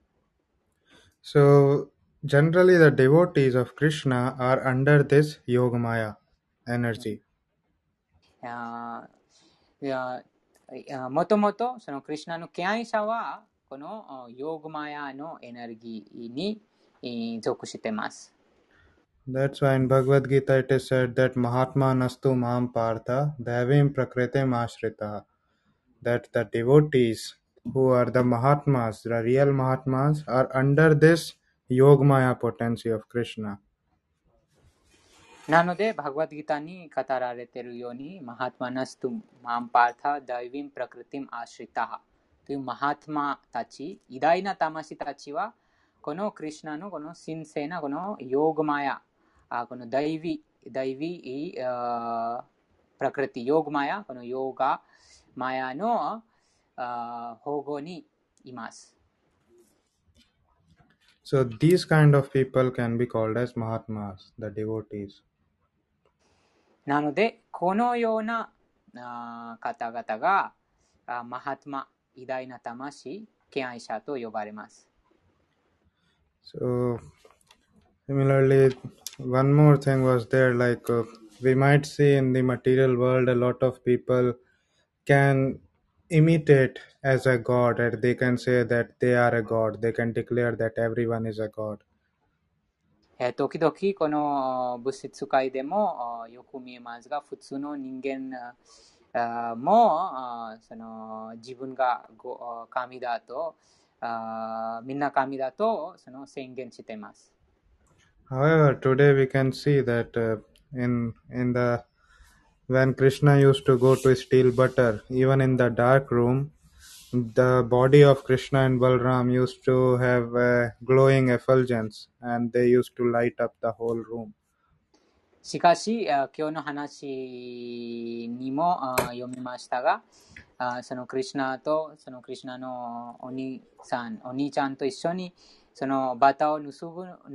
So, generally the devotees of Krishna are under this Yogamaya energy. もともとそのクリシュナの敬愛者はこのヨーガマヤのエネルギーに属しています。 That's why in Bhagavad Gita it is said that Mahatma nastu mam partha devim prakritim ashrita. That the devotees who are the Mahatmas, the real Mahatmas, are under this Yogamaya potency of Krishna. なので、バグワッドギターに語られているように、マハトマナストゥマンパータダイヴィンプラクリティムアシリタハというマハトマたち、偉大な魂たちは、このクリシュナのこの神聖なこのヨーガマヤ、このダイヴィプラクリティヨーガマヤ、このヨーガマヤの保護にいます。 So these kind of people can be called as Mahatmas, the devotees. なので、このような方々がマハトマ、偉大な魂、敬愛者と呼ばれます。 So, similarly, one more thing was there, like we might see in the material world a lot of people can imitate as a god, and they can say that they are a god. They can declare that everyone is a god. 時々この物質界でもよく見えますが、普通の人間もその自分が神だとみんな神だとその宣言しています。 However, today we can see that when Krishna used to go to steal butter, even in the dark room, the body of Krishna and Balram used to have a glowing effulgence, and they used to light up the whole room. しかし、今日の話にも読みましたが、そのクリシュナとそのクリシュナのお兄ちゃんと一緒にそのバタを盗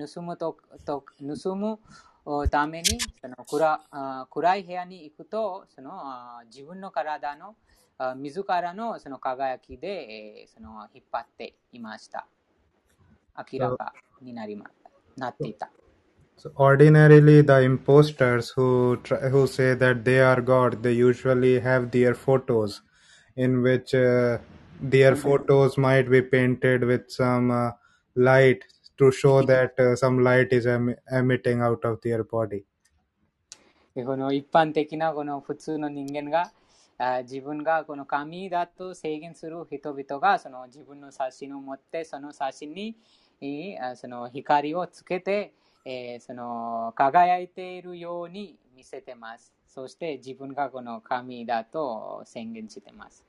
むためにその暗い部屋に行くとその自分の体の自らのその輝きでその引っ張っていました。明らかになっていた。 So ordinarily, the imposters who say that they are God, they usually have their photos, in which their photos might be painted with some light to show that some light is emitting out of their body. この一般的なこの普通の人間が自分がこの神だと制限する人々がその自分の写真を持ってその写真にその光をつけてその輝いているように見せてます。そして自分がこの神だと宣言してます。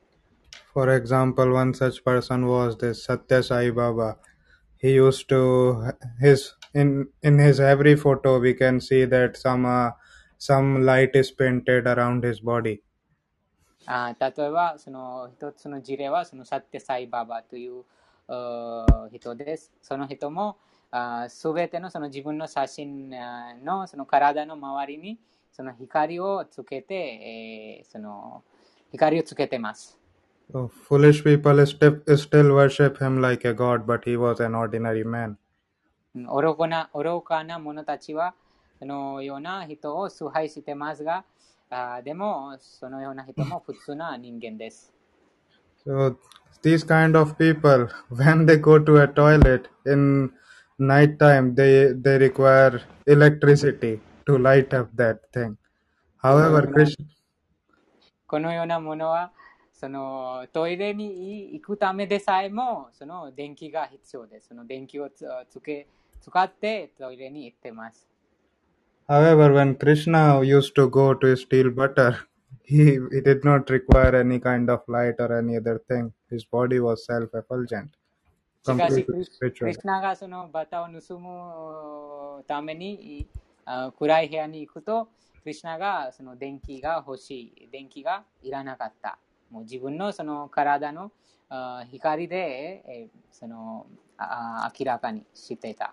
For example, one such person was this Satya Sai Baba. He used to in his every photo we can see that some light is painted around his body. 例えば、その一つの事例は、そのサッテサイババという人です。その人も、すべてのその自分の写真のその体の周りにその光をつけて、その光をつけてます。 So foolish people still worship him like a god, but he was an ordinary man. 愚かな者たちは、そのような人を崇拝してますが、でも、そのような人も普通な人間です。 So these kind of people, when they go to a toilet in night time, they require electricity to light up that thing. However, Krishna. このようなものは、そのトイレに行くためでさえも、その電気が必要です。その電気を使ってトイレに行ってます。 However, when Krishna used to go to steal butter, he did not require any kind of light or any other thing. His body was self-effulgent. しかし、クリシナがそのバターを盗むために暗い部屋に行くと、クリシナがその電気が欲しい、電気がいらなかった。もう自分のその体の光でその明らかにしていた。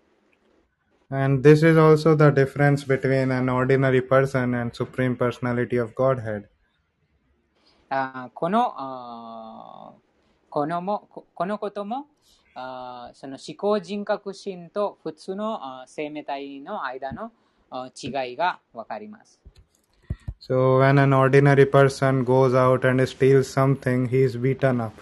And this is also the difference between an ordinary person and Supreme Personality of Godhead. このこともその思考人格心と普通の生命体の間の違いがわかります。 So when an ordinary person goes out and steals something, he is beaten up.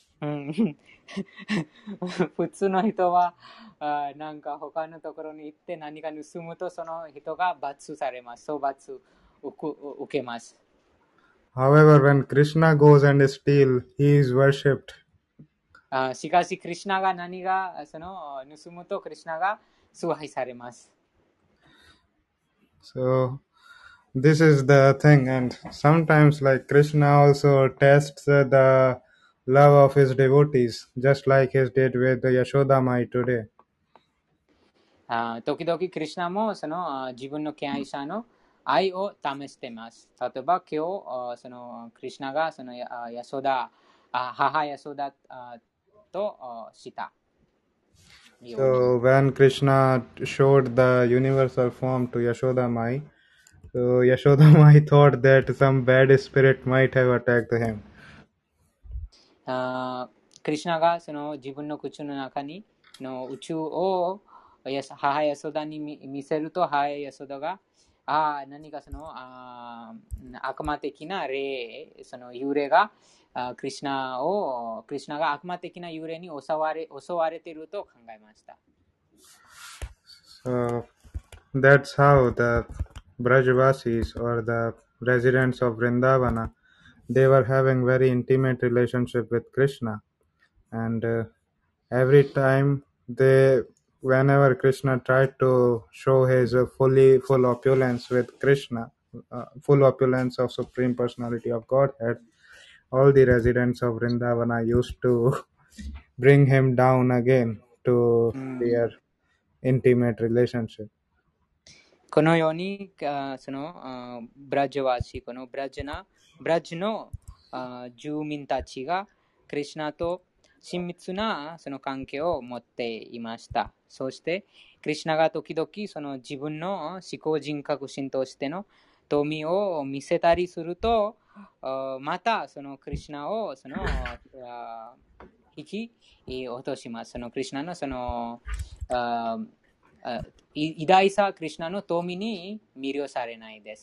普通の人はなんか他のところに行って何か盗むとその人が罰されます。そう罰受けます。 However, when Krishna goes and steals, he is worshipped. しかし、クリシナが何がその盗むとクリシナが崇拝されます。 So this is the thing, and sometimes like Krishna also tests the love of his devotees, just like he did with the Yashoda Mai today. 時々クリシナもその自分の敬愛者の愛を試しています。例えば今日そのクリシナがその母ヤソダとした。 So when Krishna showed the universal form to Yashoda Mai, so Yashoda Mai thought that some bad spirit might have attacked him. クリシナがその自分の口の中にの宇宙を母ヤソダに見せると、母ヤソダが何かその悪魔的な霊、その幽霊がクリシナが悪魔的な幽霊に襲われていると考えました。 So that's how the Brajvasis or the residents of Vrindavana, they were having very intimate relationship with Krishna, and every time whenever Krishna tried to show his full opulence with Krishna, full opulence of Supreme Personality of Godhead, all the residents of Vrindavana used to bring him down again to their intimate relationship. このようにそのブラジワシ、このブラジの住民たちがクリシナと親密なその関係を持っていました。そしてクリシナが時々その自分の思考人格心としての富を見せたりすると、またそのクリシナをその引き落とします。そのクリシナのその偉大さクリシナの富に魅了されないです。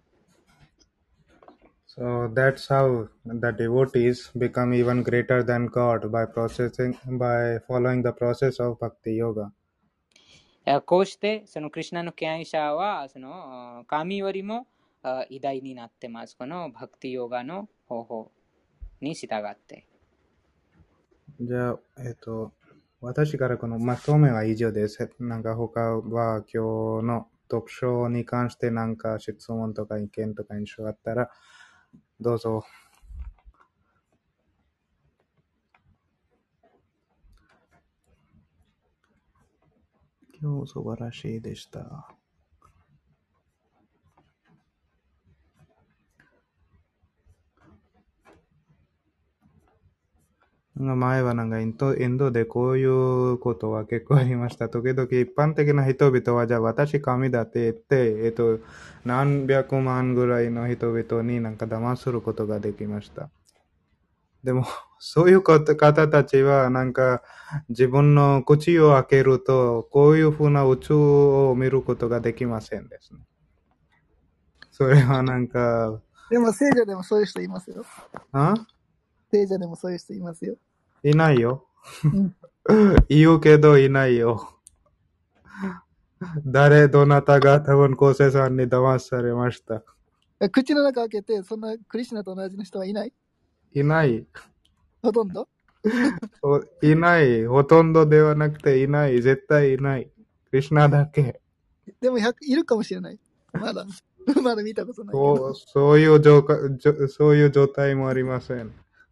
So that's how the devotees become even greater than God by following the process of Bhakti Yoga. こうしてそのクリシナの敬愛者はその神よりも偉大になってます。このバクティヨガの方法に従って。 じゃあ、私からこのまとめは以上です。なんか他は今日の読書に関してなんか質問とか意見とか印象があったらどうぞ。 今日素晴らしいでした。前はなんかインドでこういうことは結構ありました。時々一般的な人々はじゃあ私神だって言って、何百万ぐらいの人々になんか騙することができました。でも、そういう方たちはなんか自分の口を開けるとこういうふうな宇宙を見ることができませんですね。それはなんか。 でも聖者でもそういう人いますよ。聖者でもそういう人いますよ。 いないよ。言うけどいないよ。どなたが多分昴生さんに騙されました。 口の中開けて、そんなクリシュナと同じの人はいない？ いない。 ほとんどいない。ほとんどではなくていない。絶対いない。クリシュナだけ。 でもいるかもしれない。まだ見たことないけど。 そういう状態もありません。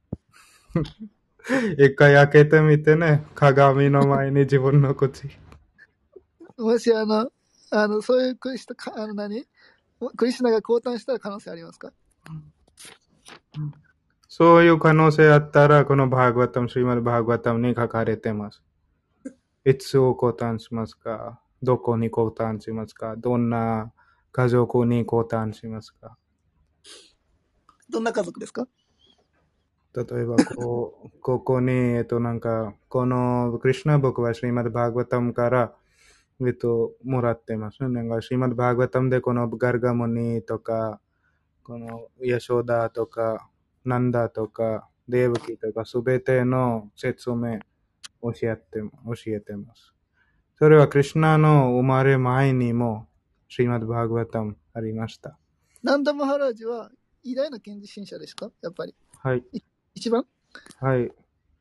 一回開けてみてね。鏡の前に自分の口。 もしそういうクリシュナが降誕したら可能性ありますか？ そういう可能性あったら、このバーガワタム、シリマッドバーガワタムに書かれてます。いつを降誕しますか？どこに降誕しますか？どんな家族に降誕しますか？ どんな家族ですか？ 例えばここに、なんか、このクリシュナ僕はシリマッドバーガワタムから、もらってますね。なんか、シリマッドバーガワタムでこのガルガモニとか、このヤショダとか、ナンダとか、デーブキとか、すべての説明教えてます。それはクリシュナの生まれ前にも、シリマッドバーガワタムありました。 ナンダマハラージは偉大な賢治信者ですか？やっぱり。 はい。 一番？ はい。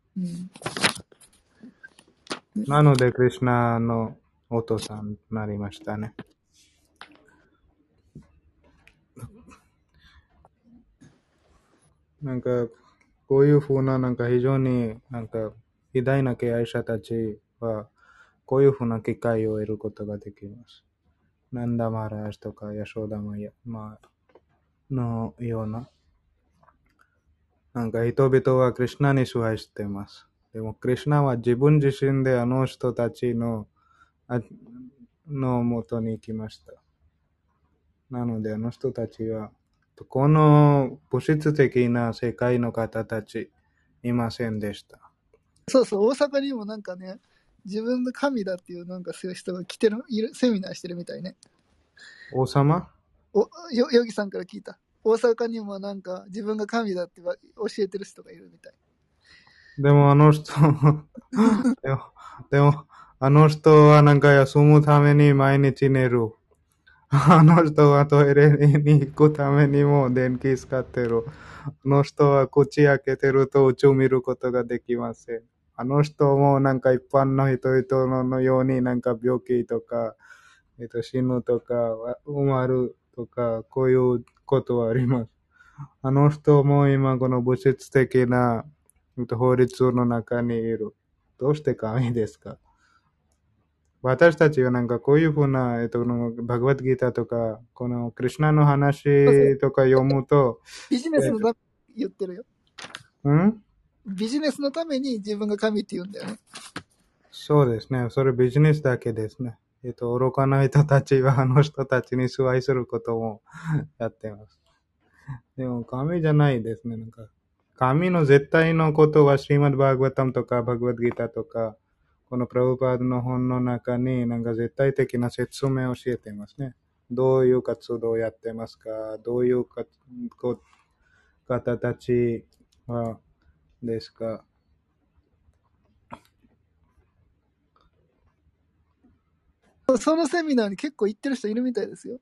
なので、クリシュナのお父さんになりましたね。なんか、こういうふうな、なんか非常になんか偉大な敬愛者たちは、こういうふうな機会を得ることができます。ナンダマラージとかヤショダマヤのような。なんか人々はクリシュナに崇拝しています。でもクリシュナは自分自身であの人たちの元に行きました。なのであの人たちは、この物質的な世界の方たちいませんでした。 そうそう、大阪にもなんかね、自分の神だっていうなんかそういう人がセミナーしてるみたいね。 王様？ ヨギさんから聞いた。大阪にもなんか自分が神だって教えてる人がいるみたい。 でもあの人でもあの人はなんか休むために毎日寝る。あの人はトイレに行くためにも電気使ってる。あの人は口開けてると宇宙見ることができません。あの人もなんか一般の人々のようになんか病気とか、死ぬとか、生まれるとか、こういうことはあります。あの人も今この物質的な法律の中にいる。どうして神ですか？私たちはなんかこういうふうな、バグワッドギーターとか、このクリシュナの話とか読むと、 ビジネスのために言ってるよ。ビジネスのために自分が神って言うんだよね。 そうですね。それビジネスだけですね。愚かな人たちはあの人たちに崇拝することもやってます。でも神じゃないですね。なんか神の絶対のことはシリマッドバーガワタムとかバグワッドギーターとか、このプラブパードの本の中になんか絶対的な説明を教えていますね。どういう活動をやってますか？どういう方たちはですか？ そのセミナーに結構行ってる人いるみたいですよ。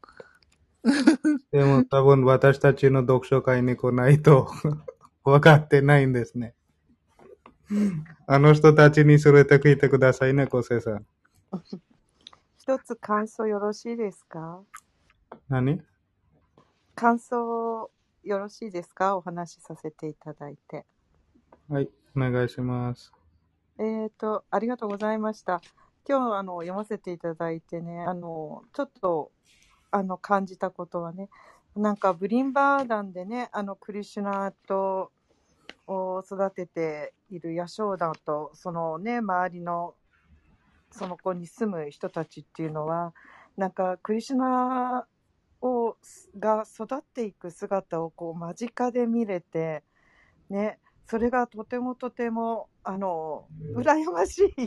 でも多分私たちの読書会に来ないと分かってないんですね。あの人たちに連れてきてくださいね、昴生さん。 一つ感想よろしいですか？ 何？ 感想よろしいですか？お話しさせていただいて。 はい、お願いします。 ありがとうございました。 今日読ませていただいてね、ちょっと感じたことはね、なんかブリンバーダンでね、クリシュナと育てているヤショーダと、そのね、周りのその子に住む人たちっていうのは、なんかクリシュナが育っていく姿をこう間近で見れて、ね、それがとてもとても羨ましい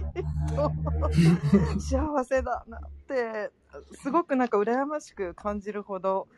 幸せだなってすごくなんか羨ましく感じるほど、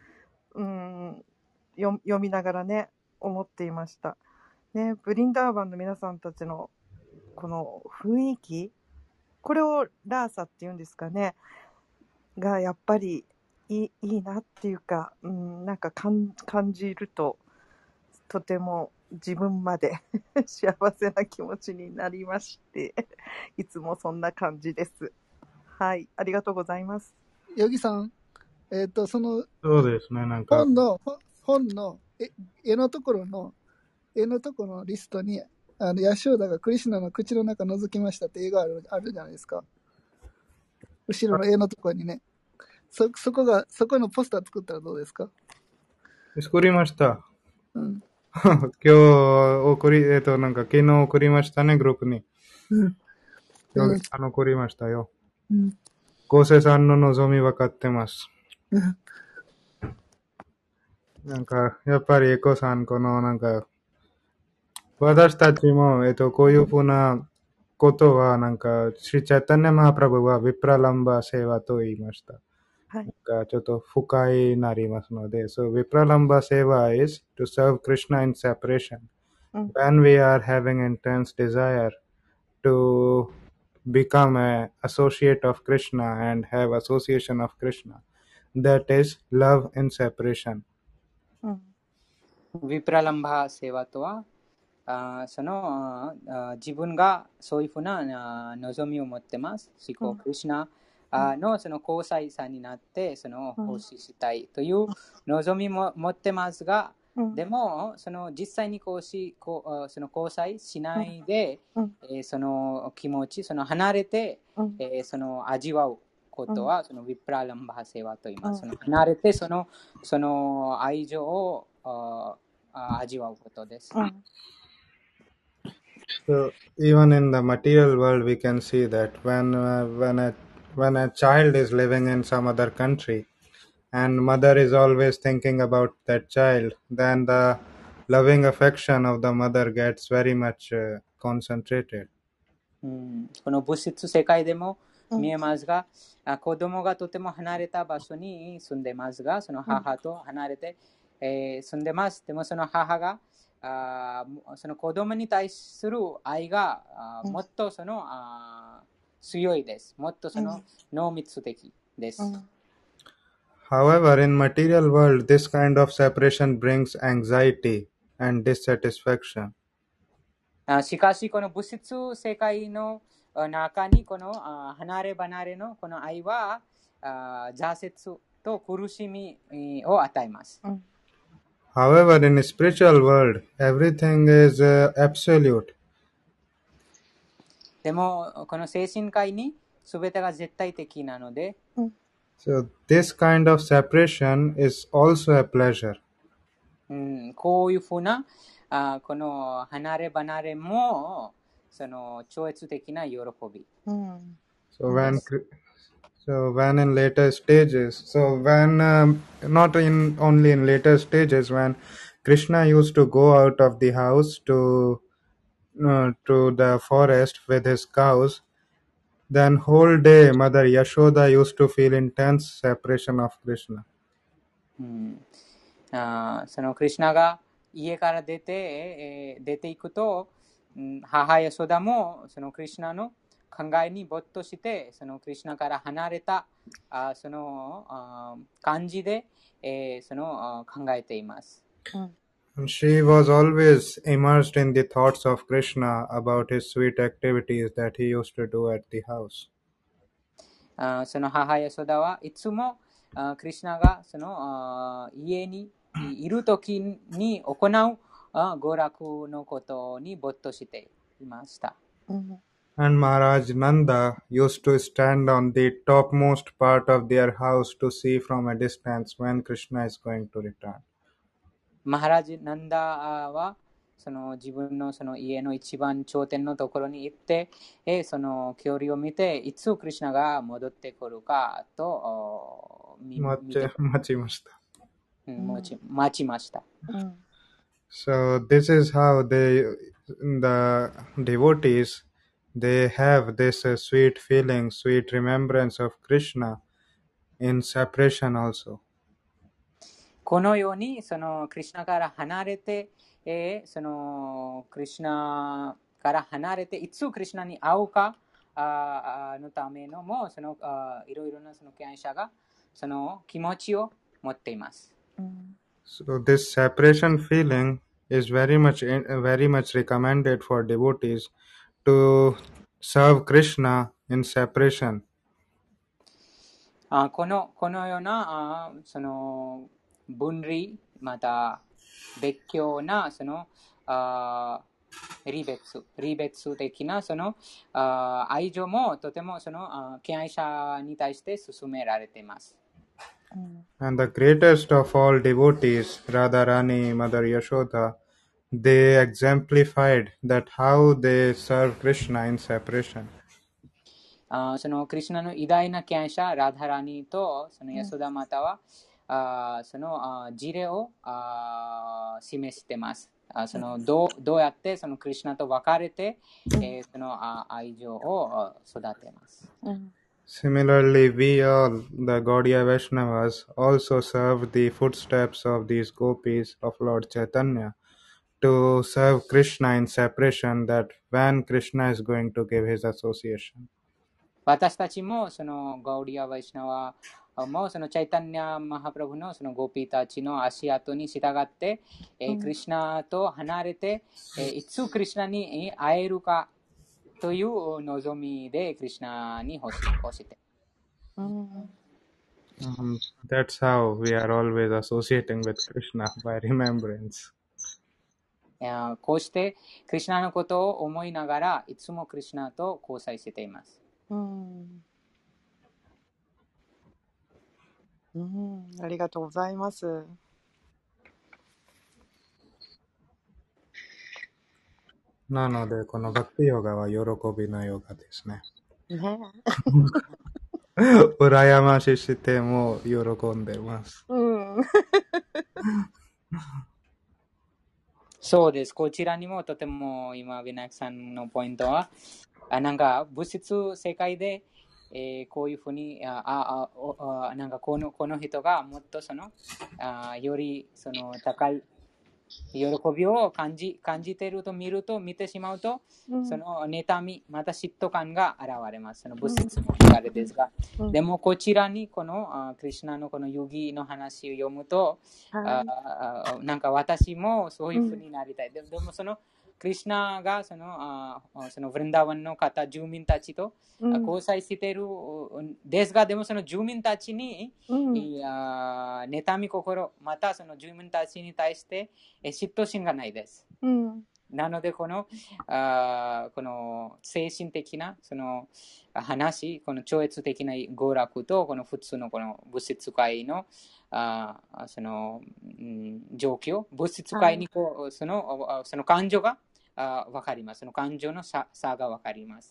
読みながらね思っていました、ね、ブリンダーバンの皆さんたちのこの雰囲気、これをラーサっていうんですかね、がやっぱりいいなっていうか、なんか感じるととても自分まで幸せな気持ちになりましていつもそんな感じです。はい、ありがとうございます。 ヨギさん、 そうですね、なんか本の絵のところのリストにヤショーダがクリシュナの口の中覗きましたって映画あるじゃないですか。後ろの絵のところにね、そこのポスター作ったらどうですか？ 作りました。 うん。 今日なんか昨日送りましたね、グループに。送りましたよ。合成さんの望み分かってます。なんか、やっぱりエコさん、なんか、私たちも、こういうふうなことは、なんか、シリチャイタニャマハプラブは、ヴィプラランバセワと言いました。 はい。 なんか、ちょっと深いなりますので、So, Vipralamba Seva is to serve Krishna in separation. When we are having intense desire to become an associate of Krishna and have association of Krishna, that is love in separation. ヴィプラランバセワとは、その自分がそういうふうな望みを持ってます。思考、クリシュナのその交際者になってその奉仕したいという望みも持ってますが、でもその実際にその交際しないで、その気持ち、その離れて、その味わうことは、そのヴィプラランバセワと言います。その離れてその愛情を味わうことです。 So even in the material world, we can see that when a child is living in some other country, and mother is always thinking about that child, then the loving affection of the mother gets very much concentrated. この物質世界でも見えますが、子供がとても離れた場所に住んでますが、その母と離れて、住んでます。でもその母がその子供に対する愛がもっと強いです。もっと濃密的です。 However, in material world, this kind of separation brings anxiety and dissatisfaction. しかし、この物質世界の中にこの離れ離れのこの愛は挫折と苦しみを与えます。 However, in a spiritual world, everything is absolute. でも、この精神界に全てが絶対的なので、 So, this kind of separation is also a pleasure. こういうふうなこの離れ離れもその超越的な喜び。 So when in later stages, not only in later stages, when Krishna used to go out of the house to the forest with his cows, then whole day Mother Yashoda used to feel intense separation of Krishna. そのクリシュナが家から出ていくと、母ヤショダもそのクリシュナの考えに没頭して、そのクリシュナから離れたその感じで、その考えています。 She was always immersed in the thoughts of Krishna about his sweet activities that he used to do at the house. その母ヤショダはいつもクリシュナがその家にいるときに行う娯楽のことに没頭していました。 And Maharaj Nanda used to stand on the topmost part of their house to see from a distance when Krishna is going to return. マハラジ・ナンダはその自分のその家の一番頂点のところに行って、その距離を見て、いつクリシュナが戻ってくるかと見て、 待ちました。 待ちました。 So this is how the devotees, they have this sweet feeling, sweet remembrance of Krishna in separation also. このようにそのクリシュナから離れて、そのクリシュナから離れていつクリシュナに会うかのためのもそのいろいろなその敬愛者がその気持ちを持っています。 So this separation feeling is very much recommended for devotees to serve Krishna in separation. このようなその分離また別居なその離別的なその愛情もとてもその敬愛者に対して進められています。 And the greatest of all devotees, Radharani, Mother Yashoda, they exemplified that how they serve Krishna in separation. そのクリシュナの偉大な敬愛者ラダラニとそのヤソダマタはその事例を示しています。そのどうやってそのクリシュナと別れて、その愛情を育てます。 Similarly, we all, the Gaudiya Vaishnavas, also serve the footsteps of these gopis of Lord Chaitanya to serve Krishna in separation, that when Krishna is going to give his association. 私たちもそのガウディア・バイシナワもそのチャイタンニャ・マハプラブのそのゴピーたちの足跡に従って、クリシュナと離れて、いつクリシュナに会えるかという望みでクリシュナに欲して。 That's how we are always associating with Krishna, by remembrance. こうしてクリシュナのことを思いながらいつもクリシュナと交際しています。 ありがとうございます。 なので、このバクティヨガは喜びのヨガですね。羨まししても喜んでます。 そうです。こちらにもとても今、ビナヤクさんのポイントは、なんか物質世界で、こういうふうになんかこの人がもっとそのよりその高い喜びを感じていると見てしまうと、その妬みまた嫉妬感が現れます。その物質の流れですが、でもこちらにこのクリシュナのこのヨギの話を読むと、なんか私もそういうふうになりたい。でもそのクリシュナがそのブリンダーワンの方、住民たちと交際しているですが、でもその住民たちに、妬み心、またその住民たちに対して嫉妬心がないです。なのでこの精神的なその話、この超越的な娯楽とこの普通のこの物質界のその状況、物質界にその感情が分かります。その感情の差が分かります。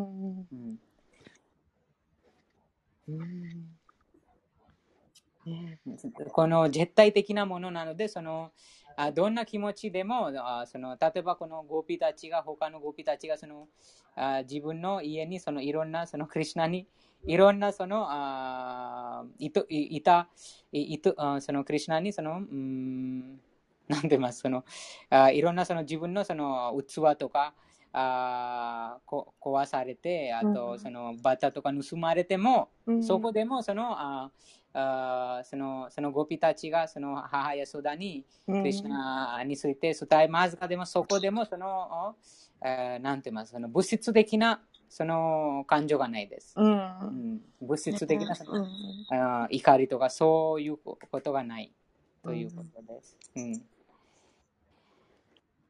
この絶対的なものなので、そのどんな気持ちでもその例えばこのゴピたちが他のゴピたちがその自分の家にそのいろんなそのクリシュナにいろんなそのそのクリシュナにそのなんて言いますそのいろんなその自分のその器とか壊されて、あとそのバタとか盗まれても、そこでもそのゴピたちがその母やソダにクリシュナについて伝えますが、でもそこでもそのなんて言いますその物質的なその感情がないです。物質的なその怒りとかそういうことがないということです。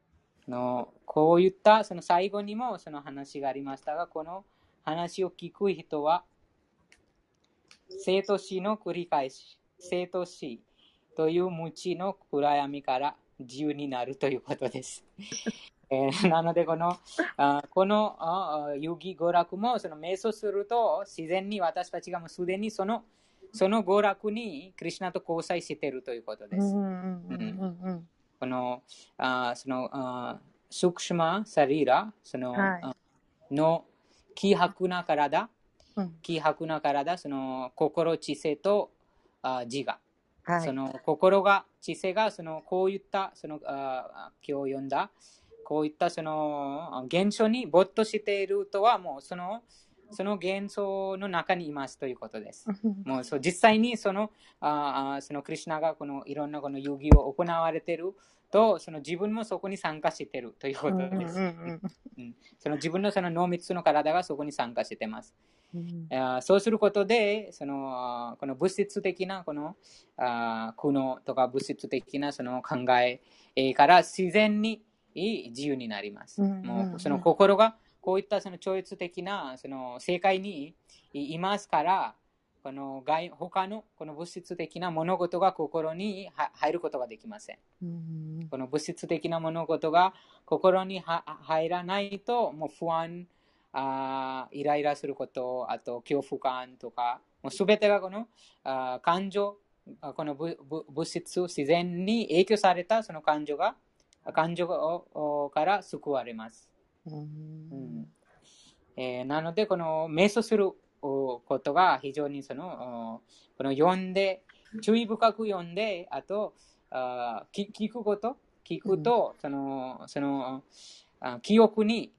こういったその最後にもその話がありましたが、この話を聞く人は生と死の繰り返し、生と死という無知の暗闇から自由になるということです。なのでこの遊戯娯楽もその瞑想すると自然に私たちがもうすでにその娯楽にクリシュナと交際しているということです。このそのスクシュマサリーラの希薄な体、その心、知性と自我、その心が知性がそのこういったその今日読んだこういったその現象に没頭しているとはもうその現象の中にいますということです。もう実際にそのクリシュナがこのいろんなこの遊戯を行われていると、その自分もそこに参加しているということです。その自分のその濃密の体がそこに参加しています。そうすることでこの物質的なこの苦悩とか物質的なその考えから自然に自由になります。もうその心がこういったその超越的なその世界にいますから、この他のこの物質的な物事が心に入ることができません。この物質的な物事が心に入らないと、もう不安、イライラすること、あと恐怖感とか、もうすべてがこの感情、この物質、自然に影響されたその感情から救われます。なので、この瞑想することが非常にこの読んで、注意深く読んで、あと聞くと、その記憶に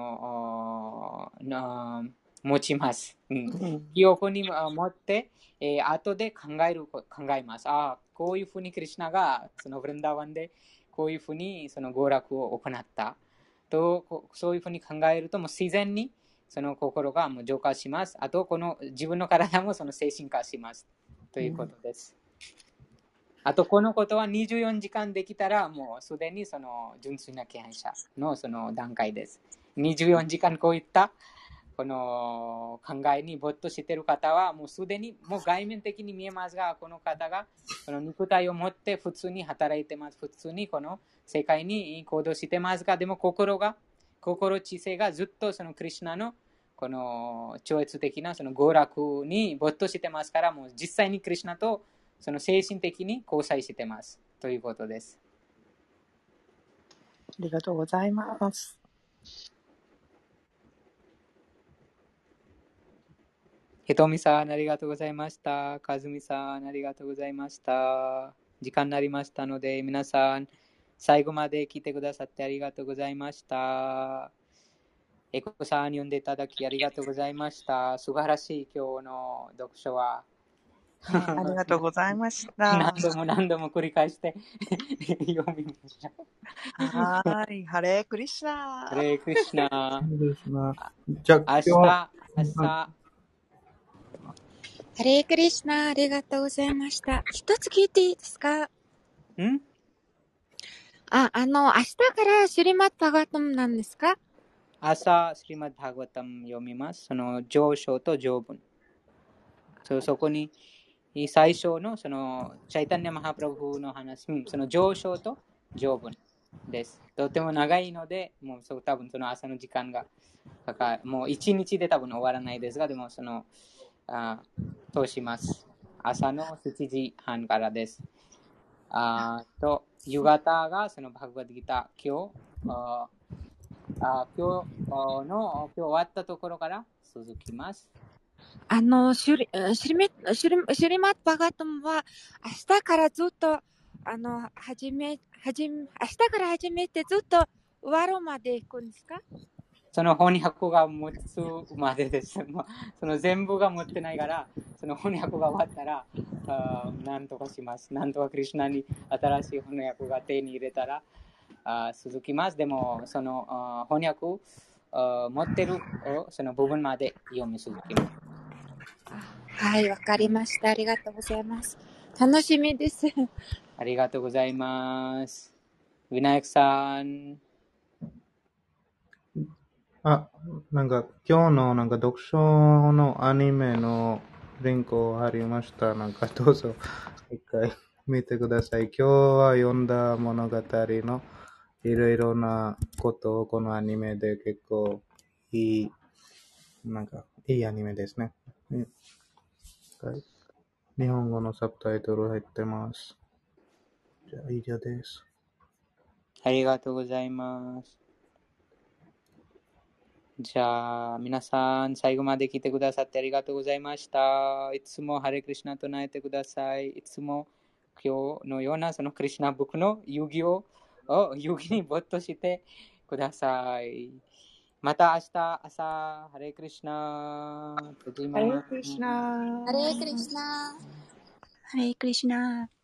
持ちます。記憶に持って、後で考えます。こういうふうにクリシュナがそのブリンダーワンでこういうふうにその娯楽を行ったと、そういうふうに考えると、もう自然にその心がもう浄化します。あと、この自分の体もその精神化しますということです。あと、このことは24時間できたら、もうすでにその純粋な敬愛者のその段階です。24時間こういったこの考えに没頭している方は、もうすでにもう外面的に見えますが、この方がこの肉体を持って普通に働いてます。普通にこの世界に行動してますが、でも心知性がずっとそのクリシュナのこの超越的なその娯楽に没頭してますから、もう実際にクリシュナとその精神的に交際してますということです。 ありがとうございます。 ひとみさん、ありがとうございました。かずみさん、ありがとうございました。時間になりましたので、皆さん、最後まで聞いてくださってありがとうございました。エコさん、読んでいただきありがとうございました。素晴らしい今日の読書は。 ありがとうございました。 何度も繰り返して読みました。 はい、ハレークリシュナ。 ハレークリシュナ。 じゃあ、 明日。 ハレークリシュナ、ありがとうございました。一つ聞いていいですか？ 明日からシュリマッド・バガワタムなんですか？ 朝、シュリマッド・バガワタム読みます。その上章と上文。そこに最初のそのチャイタンニャ・マハプラブの話、その上章と上文です。とても長いので、もう多分その朝の時間がもう1日で多分終わらないですが、でも通します。朝の7時半からです。夕方がそのバグバッドギター、今日終わったところから続きます。 シュリマッド・バガワタムは明日からずっと明日から始めてずっと終わるまで行くんですか？ その翻訳が持つまでです。その全部が持ってないから、その翻訳が終わったら、なんとかします。なんとかクリシュナに新しい翻訳が手に入れたら、続きます。でも、その翻訳持ってるその部分まで読み続きます。 はい、わかりました。ありがとうございます。楽しみです。 ありがとうございます。ウィナヤクさん。 あ、なんか今日のなんか読書のアニメのリンクを貼りました。なんかどうぞ一回見てください。今日は読んだ物語のいろいろなことをこのアニメで結構いい、なんかいいアニメですね。はい、日本語のサブタイトル入ってます。じゃあ以上です。 ありがとうございます。じゃあ、皆さん、最後まで聞いてくださってありがとうございました。いつもハレクリシナ唱えてください。いつも今日のようなそのクリシナブックの遊戯を遊戯に没頭してください。また明日朝、ハレクリシナ。 ハレークリシナー。 ハレークリシナー。 ハレークリシナ。